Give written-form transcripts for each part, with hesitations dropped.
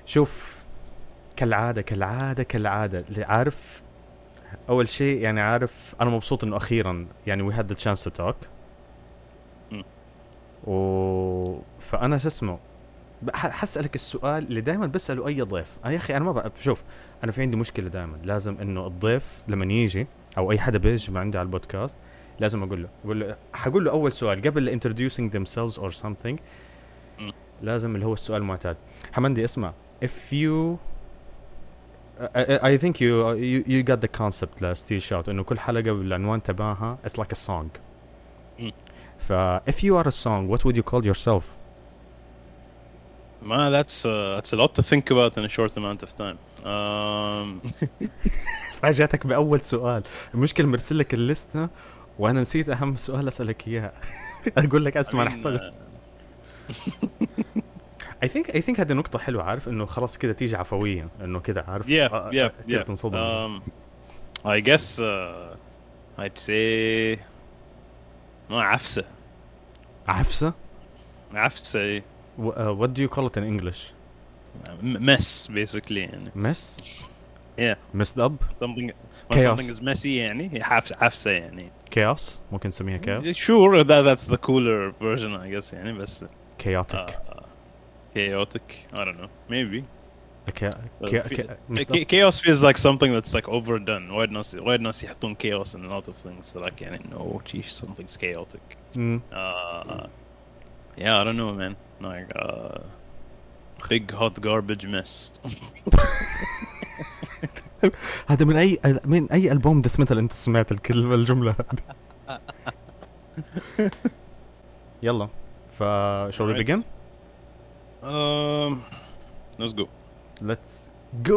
شوف، كالعادة اللي عارف. أول شيء يعني عارف أنا مبسوط إنه أخيرا يعني we had the chance to talk. مم. فأنا شو اسمه حسألك السؤال اللي دائما بسأله أي ضيف. أنا يا أخي أنا ما بقى شوف، أنا في عندي مشكلة دائما، لازم إنه الضيف لما يجي أو أي حدا بيجي ما عندي على البودكاست لازم أقول له حقول له أول سؤال قبل introducing themselves or something. مم. لازم اللي هو السؤال المعتاد. حمندي اسمع، if you I think you got the concept لا ستيل شوت إنه كل حلقة بالعنوان تبعها it's like a song. مم. if you are a song what would you call yourself؟ ما that's a lot to think about in a short amount of time. فاجأتك بأول سؤال. المشكلة مرسل لك الليستة وأنا نسيت أهم سؤال أسألك إياه. أقول لك I أسمع mean, نحفظ. I think هذه نقطة حلوة، عارف إنه خلاص كده تيجي عفوية إنه كده عارف كده yeah. تنصدم. I guess I'd say ما عفسة. عفسة. إيه. What do you call it in English؟ mess basically يعني. mess. Yeah. messed up. Something chaos. is messy يعني هي عفسة يعني. chaos ممكن نسميها chaos. Sure, that's the cooler version I guess يعني بس. chaotic. Chaotic. I don't know. Maybe. messed up. Chaos feels like something that's like overdone. وايد ناس يحطون chaos in a lot of things. Like يعني no, geez, something's chaotic. Yeah, I don't know, man. Like big hot garbage mess. هذا من أي ألبوم ديث ميتال أنت سمعت الجملة هذه؟ يلا shall we begin? Let's go. Let's go.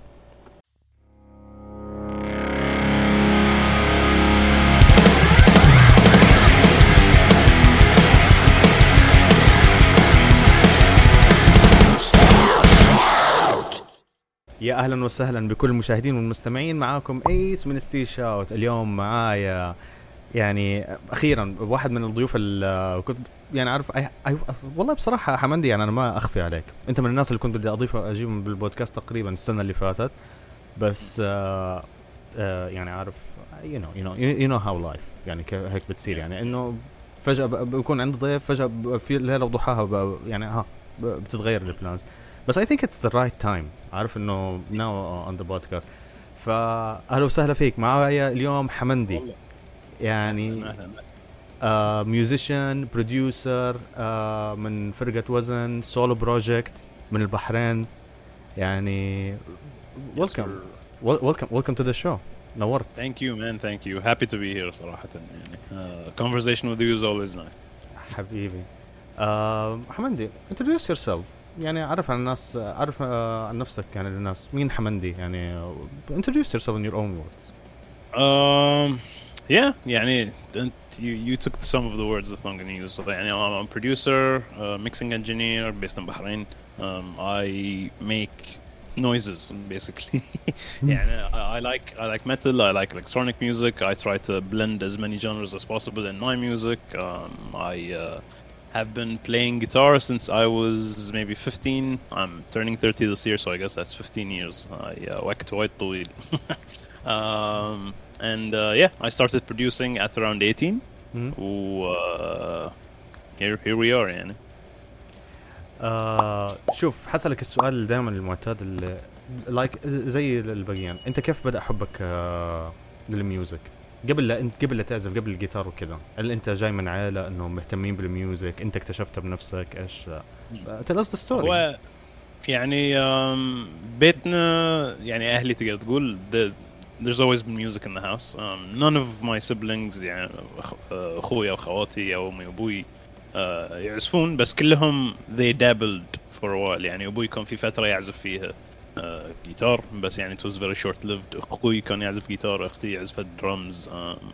يا أهلا وسهلا بكل المشاهدين والمستمعين، معاكم ايس من ستيل شاوت. اليوم معايا يعني اخيرا واحد من الضيوف اللي كنت يعني عارف والله بصراحه حمندي، يعني انا ما اخفي عليك، انت من الناس اللي كنت بدي اجيبهم بالبودكاست تقريبا السنه اللي فاتت، بس يعني عارف you know how life يعني هيك بتصير، يعني انه فجاه بكون عند ضيف، فجاه في ليله وضحاها يعني بتتغير البلانز. بس I think it's the right time، عارف انه now on the podcast. فأهلا وسهلا فيك. معايا اليوم حمندي، يعني ميوزيشن بروديوسر من فرقة وزن سولو بروجكت من البحرين، يعني welcome to the show. نورت. Thank you man, thank you. Happy to be here صراحة يعني. Conversation with you is always nice. حبيبي. حمندي introduce yourself، يعني عرف عن الناس، عرف عن نفسك يعني للناس. مين حمندي يعني؟ introduce yourself in your own words. Yeah, يعني you took some of the words that I'm going to use. So يعني I'm a producer, mixing engineer based in Bahrain. I make noises basically. يعني I like metal, I like electronic music. I try to blend as many genres as possible in my music. I have been playing guitar since I was maybe 15. I'm turning 30 this year, so I guess that's 15 years. وقت وايد طويل. And yeah, I started producing at around 18. Here we are يعني. شوف، حسألك السؤال دائما المعتاد اللي زي الباقيين، انت كيف بدأ حبك للميوزك؟ قبل لا تعزف، قبل الجيتار وكذا، هل انت جاي من عائلة انهم مهتمين بالميوزك؟ انت اكتشفتها بنفسك؟ ايش tell us the story. هو يعني بيتنا يعني اهلي تقدر تقول there's always been music in the house. None of my siblings يعني اخويا واخواتي او امي وابوي يعزفون، بس كلهم they dabbled for a while. يعني ابوي كان في فترة يعزف فيها جيتار، بس يعني it was very short lived. اخوي كان يعزف جيتار، اختي عزفت drums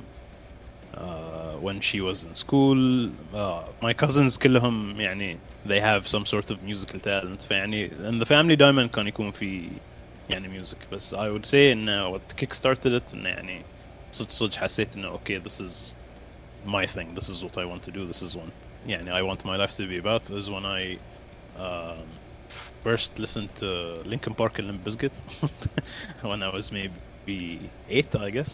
when she was in school. My cousins كلهم يعني they have some sort of musical talent. فيعني in the family دائما كان يكون في يعني music. بس I would say إن what kick started it إن يعني صدق حسيت إنه okay, this is my thing, this is what I want to do, this is one يعني I want my life to be about is when I first listened to Linkin Park and Limp Bizkit when I was maybe 8 I guess.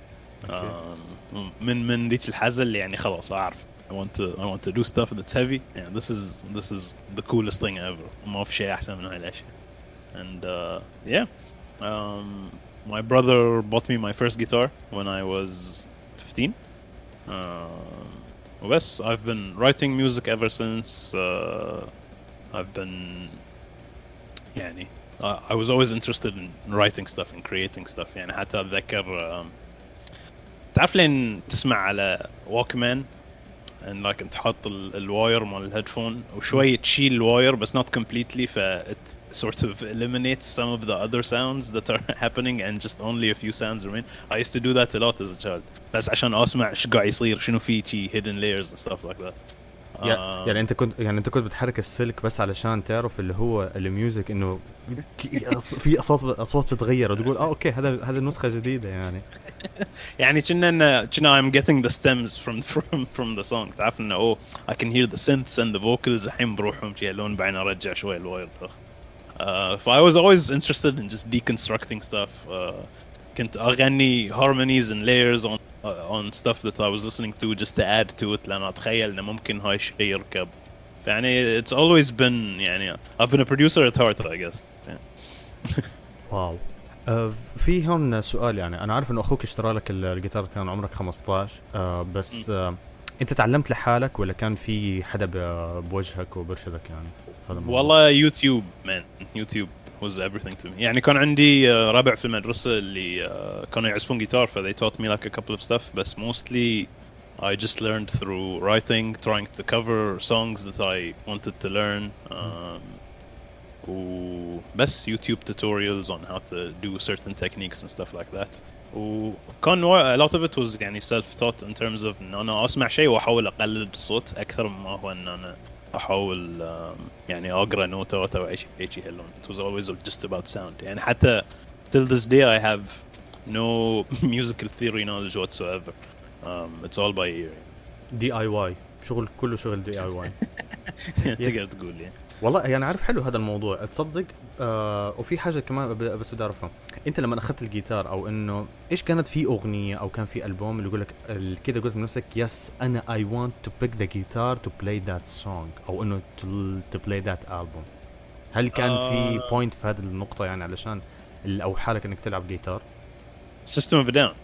من ديك الحزل يعني خلاص أعرف I want to do stuff that's heavy. Yeah, this is the coolest thing ever. ما في شيء أحسن من هاي الأشياء. And yeah, my brother bought me my first guitar when I was 15. Yes, I've been writing music ever since. I've been يعني I was always interested in writing stuff and creating stuff. يعني حتى أتذكر تعرف لين تسمع على Walkman and like انت حاط الواير مال الهيدفون وشوية تشيل الواير بس not completely it sort of eliminates some of the other sounds that are happening and just only a few sounds remain. I used to do that a lot as a child بس عشان اسمع ايش قاعد يصير شنو في شي hidden layers and stuff like that. يعني انت كنت بتحرك السلك بس علشان تعرف اللي هو الميوزك انه في اصوات بتتغير وتقول اوكي هذا النسخة جديدة يعني كنا I'm getting the stems from the song. تعرف انه I can hear the synths and the vocals الحين بروحهم شي لون بعدين ارجع شوي الواير. So I was always interested in just deconstructing stuff. كنت أغني harmonies and layers on stuff that I was listening to just to add to it لأن أتخيل إنه ممكن هاي الشيء يركب. يعني it's always been يعني I've been a producer at heart I guess. واو. في هون سؤال يعني أنا عارف إنه أخوك اشترى لك الجيتار كان عمرك 15 بس أنت تعلمت لحالك ولا كان في حدا بوجهك وبرشدك يعني؟ والله يوتيوب يوتيوب was everything to me. يعني كان عندي ربع في المدرسة اللي كانوا يعزفون جيتار so they taught me like a couple of stuff but mostly I just learned through writing, trying to cover songs that I wanted to learn. وبس YouTube tutorials on how to do certain techniques and stuff like that. وكان a lot of it was يعني self-taught in terms of إن أنا أسمع شيء وأحاول أقلد الصوت أكثر مما هو إن أنا أحاول يعني أقرأ نوتات أو أي شيء هاللون. It was always just about sound. يعني حتى till this day I have no musical theory knowledge whatsoever. It's all by ear. DIY كله شغل DIY. تقدر تقول يعني. والله يعني عارف حلو هذا الموضوع تصدق. وفي حاجة كمان بس بدي أعرفها أنت لما أخذت الجيتار أو إنه إيش كانت في أغنية أو كان في ألبوم اللي يقولك كده قلت لنفسك يس أنا I want to pick the guitar to play that song أو إنه to play that album. هل كان في point في هذه النقطة يعني علشان أو حالك إنك تلعب جيتار؟ System of a Down.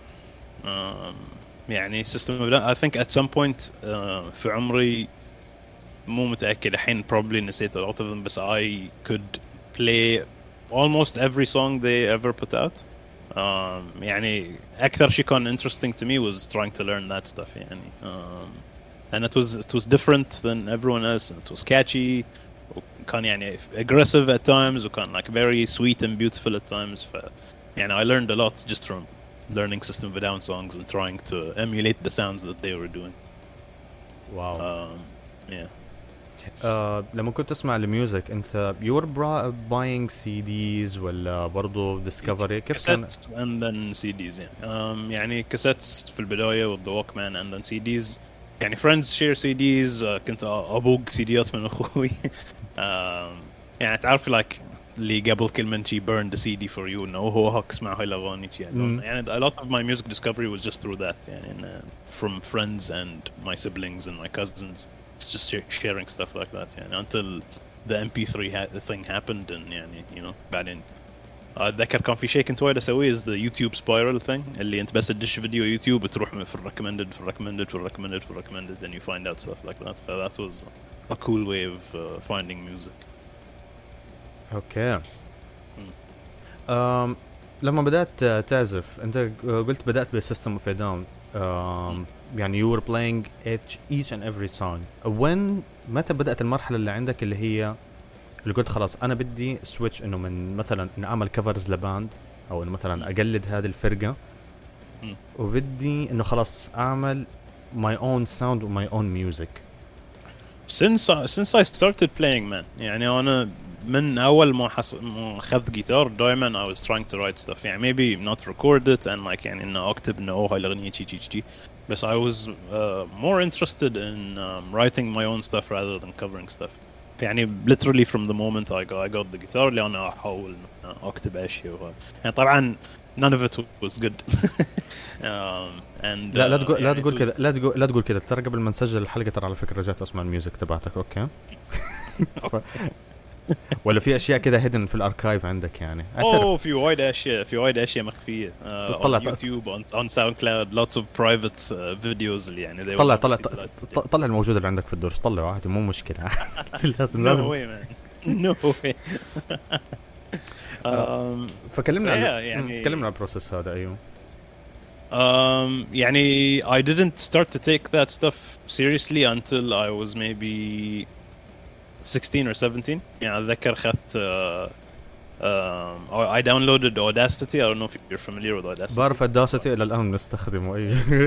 يعني System of a Down I think at some point في عمري مو متأكد الحين probably نسيت a lot of them بس I could play almost every song they ever put out. يعني أكثر شيء كان interesting to me was trying to learn that stuff يعني. And it was different than everyone else and it was catchy وكان يعني aggressive at times وكان like very sweet and beautiful at times يعني I learned a lot just from learning System of a Down songs and trying to emulate the sounds that they were doing. Wow. Yeah. لما كنت تسمع الميوزك أنت you were buying CDs ولا برضو Discovery كيف كان؟ and then CDs يعني يعني كاسيتس في البداية with the Walkman and then CDs يعني friends share CDs كنت أبوق سيديات من أخوي يعني تعرف like اللي قبل كل من شي burn the CD for you إنه هو هاك اسمع هاي الأغاني يعني a lot of my music discovery was just through that يعني from friends and my siblings and my cousins. It's just sharing stuff like that يعني until the MP3 thing happened and يعني you know بعدين أتذكر كان في شيء كنت وايد أسويه is the YouTube spiral thing اللي أنت بس تدش فيديو يوتيوب وتروح في recommended and you find out stuff like that. So that was a cool way of finding music. Okay. لما بدأت تعزف أنت قلت بدأت بالسيستم اوف داون يعني you were playing each and every song. متى بدأت المرحلة اللي عندك اللي هي اللي قلت خلاص أنا بدي switch إنه من مثلا إن أعمل covers لباند أو إنه مثلا أقلد هذه الفرقة وبدي إنه خلاص أعمل my own sound و my own music. Since I started playing man يعني أنا من أول ما أخذت جيتار دائما I was trying to write stuff يعني maybe not record it and like يعني إنه أكتب إنه هاي الأغنية شي بس I was more interested in writing my own stuff rather than covering stuff. يعني literally from the moment I got the guitar اللي أنا أحاول أكتب أشياء يعني طبعا none of it was good. And لا تقول لا يعني تقول كذا لا تقول كذا ترى قبل ما نسجل الحلقه ترى على فكره رجعت اسمع الميوزك تبعتك اوكي. ولا في اشياء كذا هيدن في الاركايف عندك يعني في وايد اشياء مخفيه طلع on YouTube on SoundCloud lots of private videos اللي يعني طلع الموجود اللي عندك في الدرس طلعه عادي مو مشكله. لازم no way. فكلمنا يعني كلمنا عن البروسيس هذا. ايوه يعني I didn't start to take that stuff seriously until I was maybe 16 or 17. يعني أتذكر أخذت I downloaded Audacity. I don't know if you're familiar with Audacity. بعرف Audacity إلى الآن بنستخدمه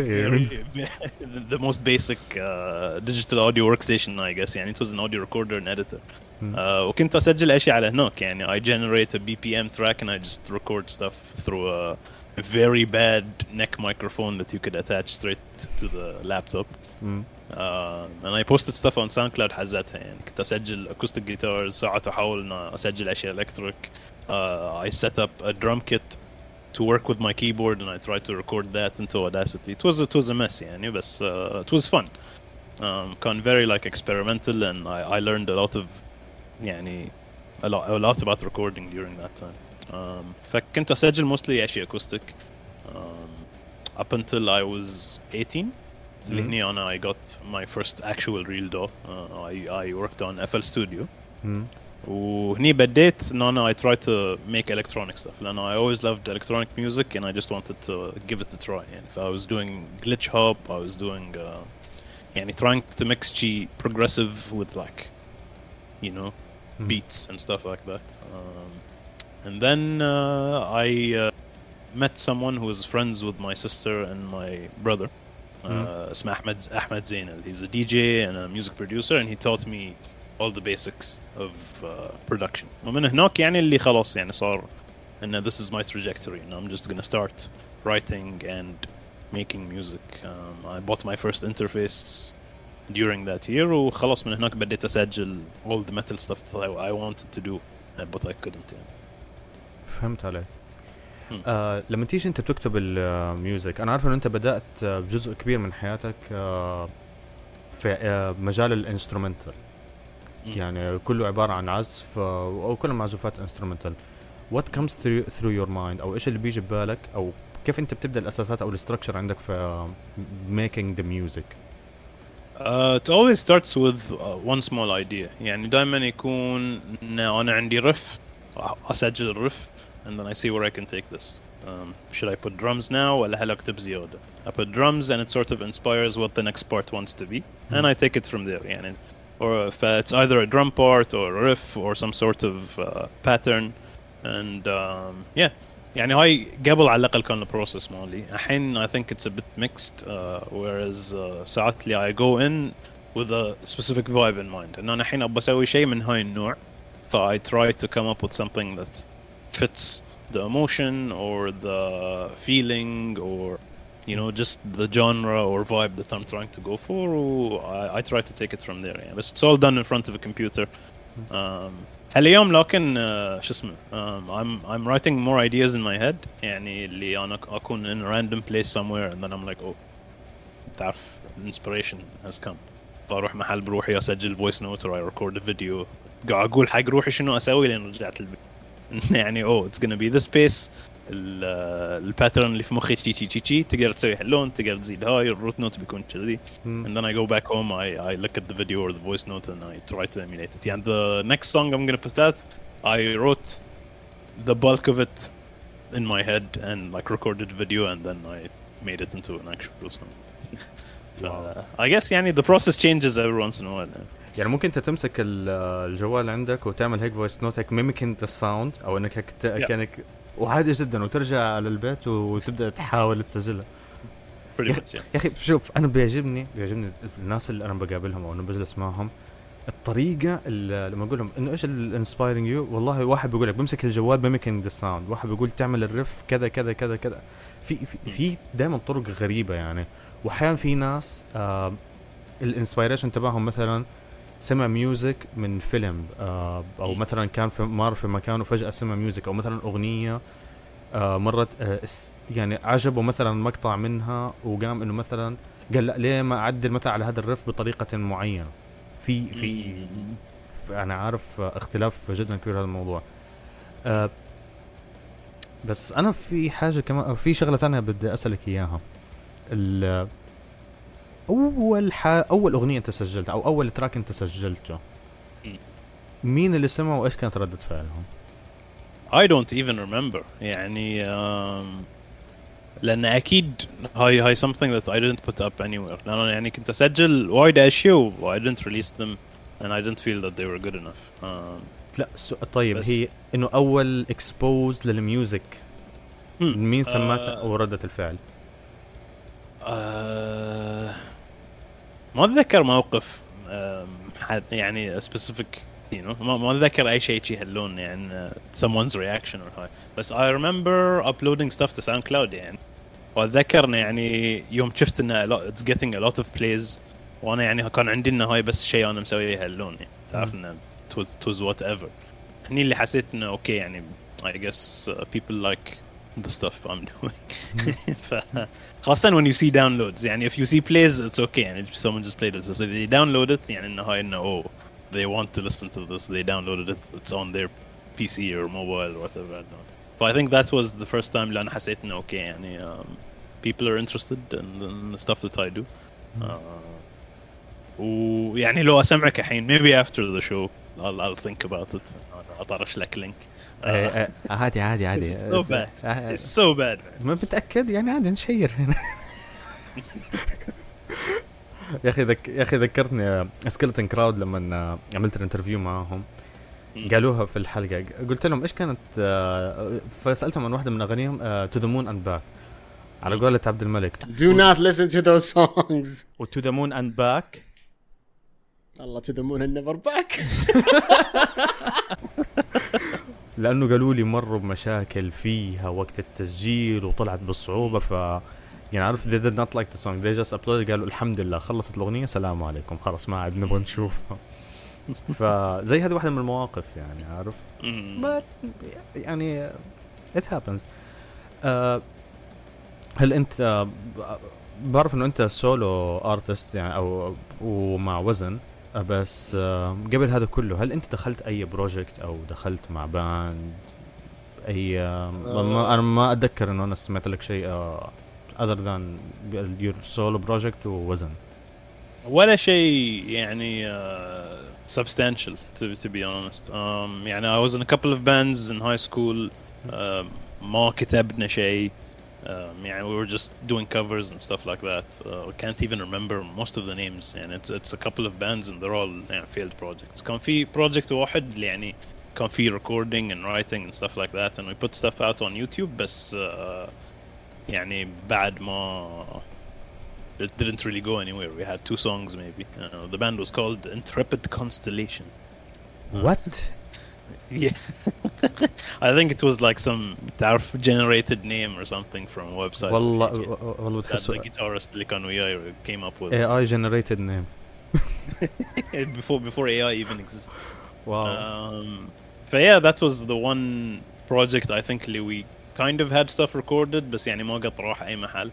the most basic digital audio workstation I guess. يعني it was an audio recorder and editor. وكنت أسجل أشياء على هناك يعني I generate a BPM track and I just record stuff through a very bad neck microphone that you could attach straight to the laptop. And I posted stuff on SoundCloud حزتها يعني كنت أسجل acoustic guitars ساعات أحاول إن أسجل أشياء electric. I set up a drum kit to work with my keyboard and I tried to record that into Audacity. It was a mess يعني بس it was fun. كان very like experimental and I learned a lot of يعني a lot about recording during that time. فكنت أسجل mostly أشياء acoustic up until I was 18. اللي هني أنا I got my first actual real DAW. I worked on FL Studio. وهني بديت إن أنا I tried to make electronic stuff. لأن I always loved electronic music and I just wanted to give it a try. يعني I was doing glitch hop. I was doing يعني trying to mix progressive with like you know beats and stuff like that. And then I met someone who was friends with my sister and my brother. اسمه أحمد زينل. He's a DJ and a music producer and he taught me all the basics of production. ومن هناك يعني اللي خلاص يعني صار إن this is my trajectory and I'm just gonna start writing and making music. I bought my first interface during that year وخلاص من هناك بديت أسجل all the metal stuff that I wanted to do but I couldn't. يعني. فهمت عليك. لما تيجي انت بتكتب الميوزك انا عارف ان انت بدأت بجزء كبير من حياتك في مجال الانسترومنتال يعني كله عبارة عن عزف او كل معزوفات انسترومنتال. what comes through your mind او ايش اللي بيجي ببالك او كيف انت بتبدأ الاساسات او الستركشر عندك في making the music؟ It always starts with one small idea. يعني دائما يكون انا عندي رف اسجل الرف and then I see where I can take this. Should I put drums now ولا هل أكتب زيادة? I put drums and it sort of inspires what the next part wants to be and I take it from there يعني. Or if it's either a drum part or a riff or some sort of pattern and yeah يعني هاي قبل على الأقل كان البروسيس مالي. الحين I think it's a bit mixed whereas ساعات لي I go in with a specific vibe in mind إن أنا الحين أبغى أسوي شيء من هاي النوع ف I try to come up with something that fits the emotion or the feeling or you know just the genre or vibe that I'm trying to go for. I try to take it from there يعني. But it's all done in front of a computer. اليوم لكن شو اسمه I'm writing more ideas in my head يعني اللي أنا أكون in a random place somewhere and then I'm like oh تعرف inspiration has come فأروح محل بروحي أسجل voice note or I record a video قاعد أقول حق روحي شنو أسوي لين رجعت البيت يعني it's gonna be this space الباترن اللي في مخي تشي تقدر تسوي اللون تقدر تزيد هاي الروت نوت بيكون كذي and then I go back home I look at the video or the voice note and I try to emulate it. يعني the next song I'm gonna put out I wrote the bulk of it in my head and like recorded video and then I made it into an actual song. I guess يعني the process changes every once in a while. يعني ممكن انت تمسك الجوال عندك وتعمل هيك فويس نوت هيك ميميكينج ذا ساوند او انك كانك وعادي جدا وترجع على البيت وتبدا تحاول تسجلها. يا اخي شوف انا بيعجبني الناس اللي انا بقابلهم او انا بجلس معهم الطريقه اللي لما اقول لهم انه ايش الانسبايرنج يو والله واحد بيقول لك بمسك الجوال ميميكينج ذا ساوند واحد بيقول تعمل الريف كذا كذا كذا كذا في دائما طرق غريبه يعني. واحيانا في ناس الانسبايريشن تبعهم مثلا سمع ميوزك من فيلم او مثلا كان في مار في مكان وفجأة سمع ميوزك، او مثلا اغنية مرت يعني عجبه مثلا مقطع منها وقام انه مثلا قال لا ليه ما اعدل مثلا على هذا الرف بطريقة معينة. في انا عارف اختلاف جدا كبير هذا الموضوع. بس انا في حاجة كمان، في شغلة ثانية بدي اسألك اياها. اول اغنية انت سجلتها او اول تراك انت سجلته، مين اللي سمعه وايش كانت ردة فعلهم؟ I don't even remember يعني لأن أكيد هاي something that I didn't put up anywhere. لأن يعني كنت أسجل وايد أشياء I didn't release them and I didn't feel that they were good enough. لا طيب هي إنه أول expose للميوزك مين سمعتها وردة الفعل؟ ما أتذكر موقف يعني specific you know ما أتذكر أي شيء هاللون يعني someone's reaction or high. بس I remember uploading stuff to SoundCloud يعني. وأتذكر يعني يوم شفت إنه it's getting a lot of plays وأنا يعني كان عندي إنه هاي بس شيء أنا مسويه هاللون يعني تعرف إنه it was whatever. هني اللي حسيت إنه أوكي يعني I guess people like the stuff I'm doing. خاصة when you see downloads يعني if you see plays it's okay يعني someone just played it. But if they download it يعني إنه هاي إنه oh they want to listen to this, they downloaded it, it's on their PC or mobile or whatever. So I think that was the first time اللي أنا حسيت إنه أوكي يعني people are interested in the stuff that I do. ويعني لو أسمعك الحين maybe after the show I'll think about it. أطرش لك لينك. عادي. It's so bad. It's so bad. ما بتأكد يعني عادي نشير هنا. يا أخي ذكرتني سكيلتون كراود لما عملت الانترفيو معاهم قالوها في الحلقة. قلت لهم إيش كانت فسألتهم عن واحدة من أغانيهم To the Moon and Back على قولة عبد الملك. Do not listen to those songs. و To the Moon and Back الله To the Moon and Never Back. لأنه قالوا لي مروا بمشاكل فيها وقت التسجيل وطلعت بصعوبة يعني عارف they did not like the song, they just uploaded. قالوا الحمد لله خلصت الأغنية سلام عليكم خلاص ما عاد نبغى نشوفها. فزي هذه واحدة من المواقف يعني عارف. but يعني it happens. هل أنت بعرف إنه أنت سولو أرتست يعني أو ومع وزن بس قبل هذا كله هل أنت دخلت أي بروجكت أو دخلت مع باند أي أنا ما أتذكر إنه أنا سمعت لك شيء other than your solo project ووزن ولا شيء يعني substantial to be honest. يعني I was in a couple of bands in high school. ما كتبنا شيء. يعني we were just doing covers and stuff like that. I can't even remember most of the names. And it's a couple of bands and they're all failed projects. كان في project واحد اللي يعني كان في recording and writing and stuff like that and we put stuff out on YouTube بس يعني بعد ما it didn't really go anywhere. We had 2 songs maybe. The band was called Intrepid Constellation. What? Yeah. I think it was like some generated name or something from a website. والله that the guitarist اللي كان وياي came up with. AI generated name. before AI even existed. Wow. But yeah, that was the one project I think we kind of had stuff recorded بس يعني ما قد راح أي محل.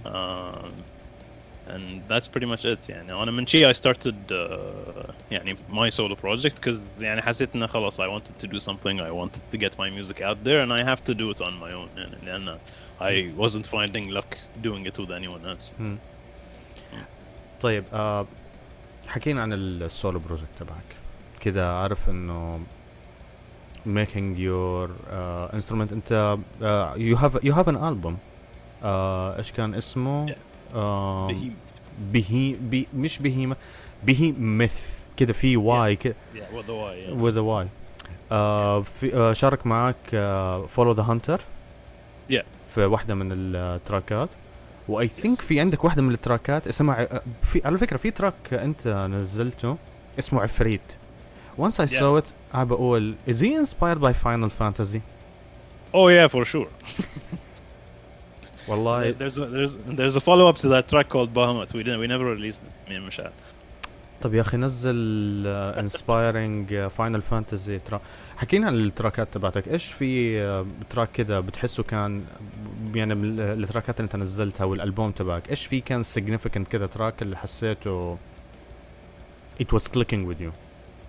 And that's pretty much it يعني أنا من شيء I started يعني my solo project because يعني حسيت إنه خلاص I wanted to do something. I wanted to get my music out there and I have to do it on my own يعني لأن I wasn't finding luck doing it with anyone else. طيب حكينا عن السولو بروجكت تبعك كده عارف إنه making your instrument أنت you have an album إيش كان اسمه مش بهيمة بهيمث كده في واي كده with the Y في شارك معك follow the hunter في واحدة من التراكات و I think في عندك واحدة من التراكات اسمها في على فكرة في تراك أنت نزلته اسمه عفريت. Once I saw it I بقول is he inspired by Final Fantasy? Oh yeah, for sure. والله there's a follow up to that track called Bahamut. We never released it. Me and Michelle. طب يا اخي نزل انسبايرنج فاينل فانتزي ترى. حكينا عن التراكات تبعتك، ايش في تراك كذا بتحسه كان يعني من التراكات اللي انت نزلتها والالبوم تبعك، ايش في كان significant كذا تراك اللي حسيته it was clicking with you؟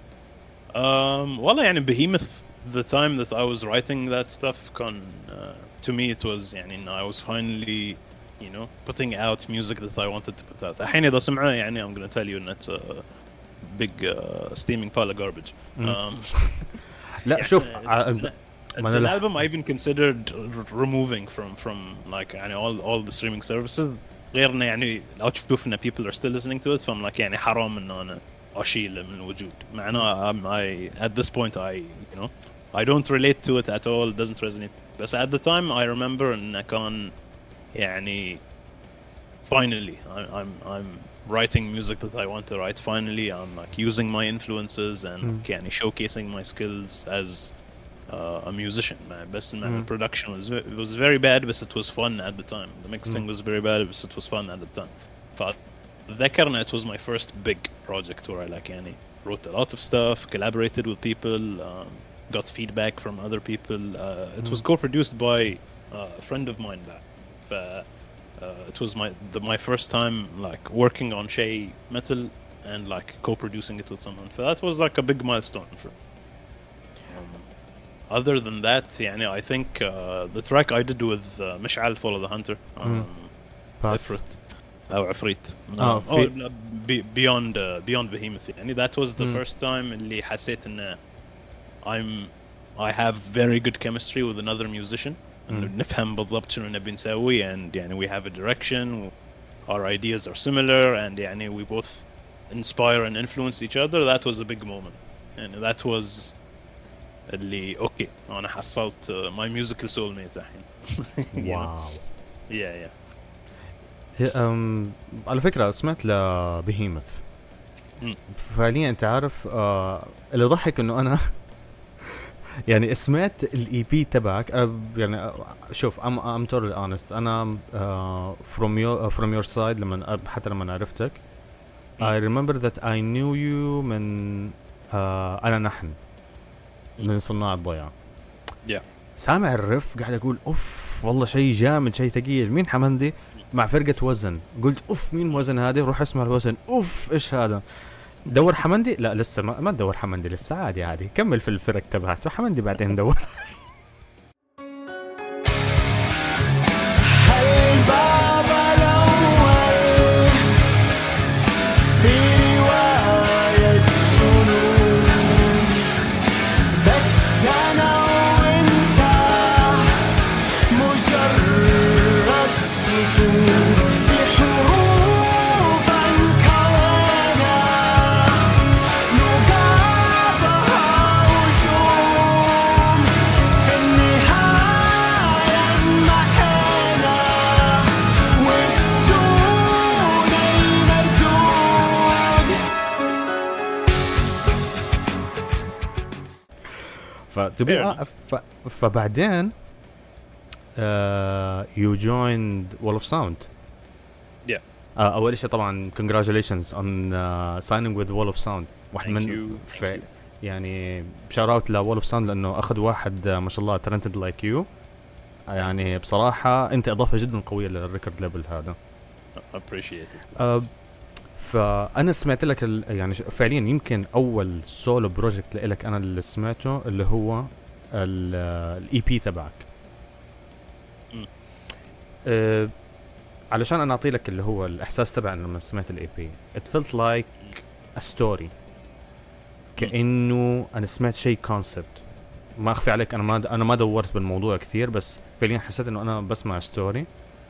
والله يعني Behemoth, the time that I was writing that stuff كان to me it was يعني I was finally you know putting out music that I wanted to put out. الحين إذا سمعه يعني I'm gonna tell you that it's a big steaming pile of garbage. لا شوف It's an album I even considered removing from like يعني all the streaming services. غير إنه يعني لو تشوف إن people are still listening to it فهم like يعني حرام إنه أنا أشيله من الوجود. مع إنه I at this point I don't relate to it at all. It doesn't resonate. But at the time I remember إنه كان يعني finally I'm writing music that I want to write. Finally I'm like using my influences and يعني showcasing my skills as a musician. بس the production was very bad but it was fun at the time. The mixing was very bad but it was fun at the time. فذكرنا it was my first big project where I like يعني wrote a lot of stuff, collaborated with people, got feedback from other people. It was co-produced by a friend of mine back. It was my first time like working on Shay Metal and like co-producing it with someone. So that was like a big milestone for me. Other than that, يعني I think the track I did with مشعل Follow the Hunter, عفريت أو عفريت, beyond Behemoth. يعني that was the first time اللي حسيت إن I have very good chemistry with another musician. نفهم بالضبط شنو نبي نسوي and يعني we have a direction, our ideas are similar and يعني we both inspire and influence each other. That was a big moment and that was اللي اوكي انا حصلت my musical soulmate الحين. واو. yeah على فكرة سمعت لبهيمث فعليا انت عارف اللي ضحك انه انا يعني سمعت الاي بي تبعك يعني شوف I'm totally honest انا from your side حتى لما عرفتك I remember that I knew you من انا نحن من صناع الضيعة. سامع الرف قاعد اقول اوف والله شيء جامد شيء ثقيل. مين حمندي مع فرقة وزن؟ قلت اوف مين وزن هذه؟ روح اسمع الوزن. اوف ايش هذا؟ دور حمندي؟ لا لسه ما تدور حمندي لسه، عادي كمل في الفرق تبعته حمندي بعدين دور. فبعدين you joined Wall of Sound. أول شيء طبعا congratulations on signing with Wall of Sound. واحد من يعني shout out ل Wall of Sound لأنه أخذ واحد ما شاء الله talented like you. يعني بصراحة أنت إضافة جدا قوية للريكورد ليبل هذا. appreciate it. فأنا سمعت لك يعني فعليا يمكن أول سولو بروجكت لك أنا اللي سمعته اللي هو الإي بي تبعك. علشان أنا أعطي لك اللي هو الإحساس تبع لما سمعت الإي بي it felt like a story. كأنه أنا سمعت شيء concept. ما أخفي عليك أنا ما دورت بالموضوع كثير بس فعليا حسيت إنه أنا بسمع ستوري.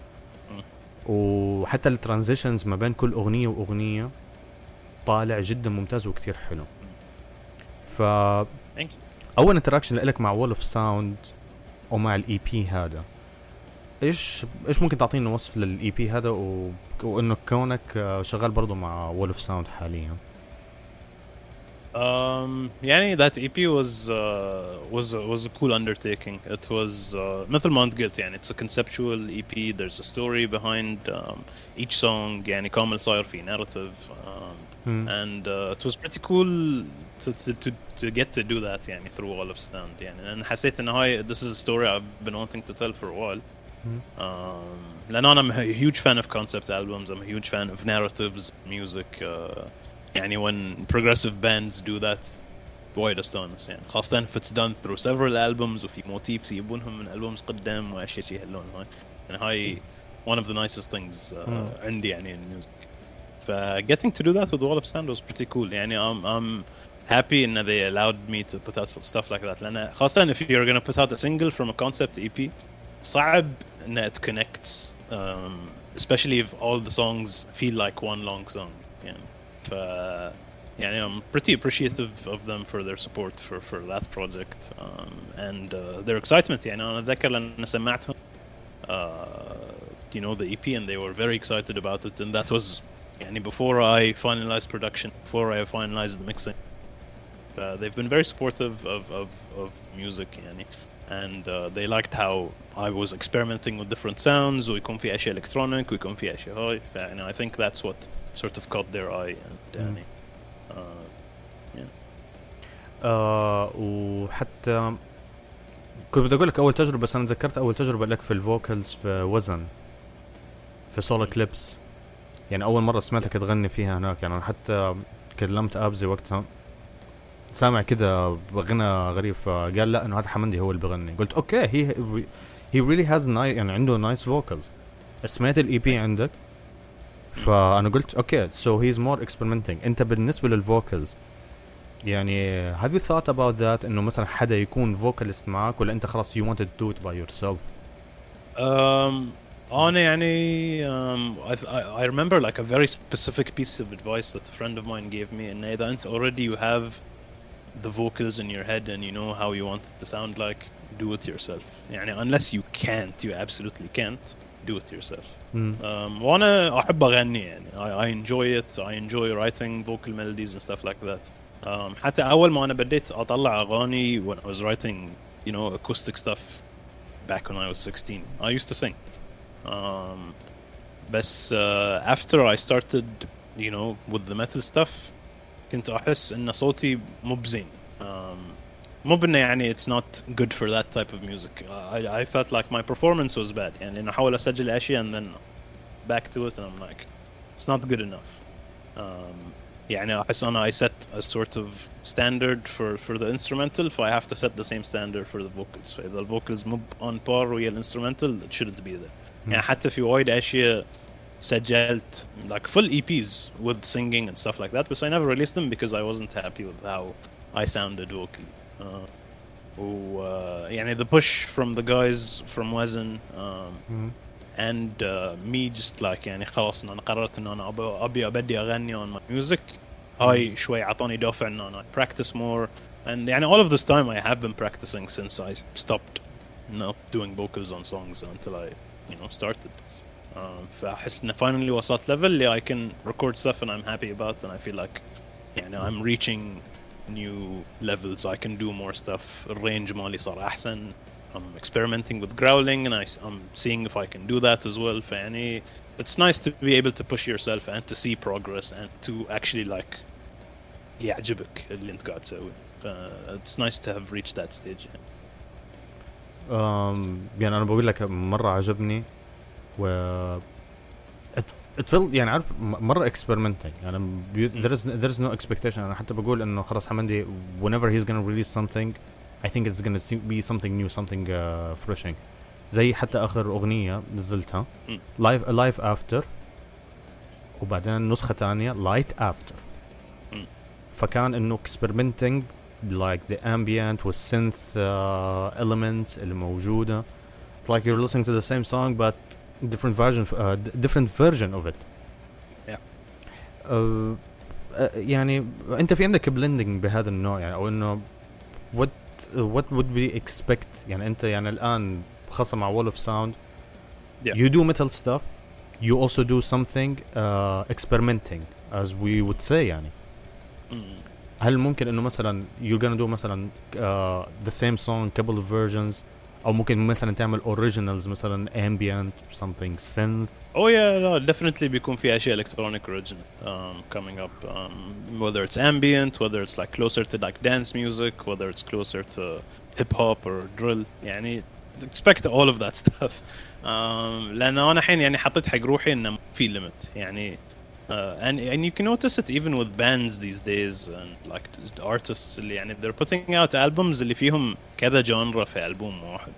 وحتى الترانزيشنز ما بين كل أغنية وأغنية طالع جدا ممتاز وكتير حلو. أول انتراكشن لك مع وول اوف ساوند ومع الإي بي هذا إيش ممكن تعطينا وصف للإي بي هذا وإنه كونك شغال برضو مع وول اوف ساوند حاليا؟ يعني that EP was a cool undertaking. It was مثل ما أنت قلت يعني it's a conceptual EP. There's a story behind each song. يعني كامل صاير في narrative. and it was pretty cool to get to do that يعني through Wall of Sound يعني. أنا حسيت إن هاي this is a story I've been wanting to tell for a while. لأن أنا I'm a huge fan of concept albums. I'm a huge fan of narratives, music. يعني when progressive bands do that وايد استانس يعني، خاصة if it's done through several albums وفي motifs يبونهم من albums قدام وأشياء شيء هاللون هاي يعني. هاي one of the nicest things عندي يعني in music. Getting to do that with Wall of Sound was pretty cool يعني. I'm happy that they allowed me to put out stuff like that. لأن خاصة if you're gonna put out a single from a concept EP صعب إن it connects, especially if all the songs feel like one long song يعني. يعني I'm pretty appreciative of them for their support for that project, and their excitement يعني. أنا أتذكر لأن سمعتهم you know the EP and they were very excited about it, and that was يعني before I finalized production, before I finalized the mixing. They've been very supportive of music يعني, and they liked how I was experimenting with different sounds ويكون في أشياء electronic ويكون في أشياء هاي. and I think that's what sort of caught their eye and يعني وحتى كنت بدي أقول لك أول تجربة، بس أنا تذكرت أول تجربة لك في الفوكالز في وزن في سولو كليبس يعني. أول مرة سمعتك تغني فيها هناك يعني. أنا حتى كلمت أبزي وقتها سامع كده غنى غريب، فقال لا إنه هذا حمندي هو اللي بغني. قلت أوكي he really has nice يعني عنده nice vocals. سمعت ال EP عندك فأنا قلت أوكي so he's more experimenting. أنت بالنسبة للفوكالز يعني have you thought about that إنه مثلا حدا يكون vocalist معك، ولا أنت خلاص you wanted to do it by yourself؟ أنا يعني I remember like a very specific piece of advice that a friend of mine gave me, إن إذا أنت already you have the vocals in your head and you know how you want it to sound like, do it yourself يعني. unless you can't, you absolutely can't, do it yourself. وأنا أحب أغني يعني. I enjoy it. I enjoy writing vocal melodies and stuff like that. حتى أول ما أنا بديت أطلع أغاني when I was writing you know acoustic stuff back when I was 16, I used to sing. بس after I started you know with the metal stuff كنت أحس إن صوتي مو بزين. مو بإنه يعني it's not good for that type of music. I felt like my performance was bad يعني. أنا أحاول أسجل أشياء and then back to it and I'm like it's not good enough. يعني أحس أنا I set a sort of standard for the instrumental, so I have to set the same standard for the vocals. فإذا the vocals مو on par ويا instrumental it shouldn't be there. يعني حتى في وايد أشياء سجلت like full EPs with singing and stuff like that, but I never released them because I wasn't happy with how I sounded vocally. يعني the push from the guys from Wazn and me just like يعني خلاص إن أنا قررت إن أنا أبي أبدي أغني on my music. هاي شوي عطاني دافع إن أنا practice more, and يعني all of this time I have been practicing since I stopped not doing vocals on songs until I you know started. فأحس إن finally وصلت level اللي I can record stuff and I'm happy about, and I feel like يعني I'm reaching new levels. I can do more stuff. الرينج مالي صار أحسن. I'm experimenting with growling and I'm seeing if I can do that as well. فيعني it's nice to be able to push yourself and to see progress and to actually like يعجبك اللي أنت قاعد تسوي. It's nice to have reached that stage. يعني أنا بقول لك مرة عجبني و it felt يعني عارف مرة experimenting يعني. there's no expectation. أنا حتى بقول إنه خلاص حمندي whenever he's gonna release something I think it's gonna be something new, something refreshing. زي حتى آخر أغنية نزلتها live after، وبعدين نسخة تانية light after. فكان إنه experimenting like the ambient والsynth elements اللي موجودة, like you're listening to the same song but different version of it. يعني أنت في عندك blending بهذا النوع يعني, أو إنه what would we expect يعني. أنت يعني الآن خاصة مع Wall of Sound you do metal stuff, you also do something experimenting as we would say يعني. هل ممكن إنه مثلا you're gonna do مثلا the same song couple of versions او ممكن مثلا تعمل اوريجينالز مثلا ambient something synth. Oh yeah, no, definitely بيكون في أشياء electronic original coming up, whether it's ambient, whether it's like closer to like dance music, whether it's closer to hip hop or drill. يعني expect all of that stuff. لأن أنا حين يعني حطيت حق روحي إنه في limit يعني. And you can notice it even with bands these days and like artists اللي يعني they're putting out albums اللي فيهم كذا genre في ألبوم واحد.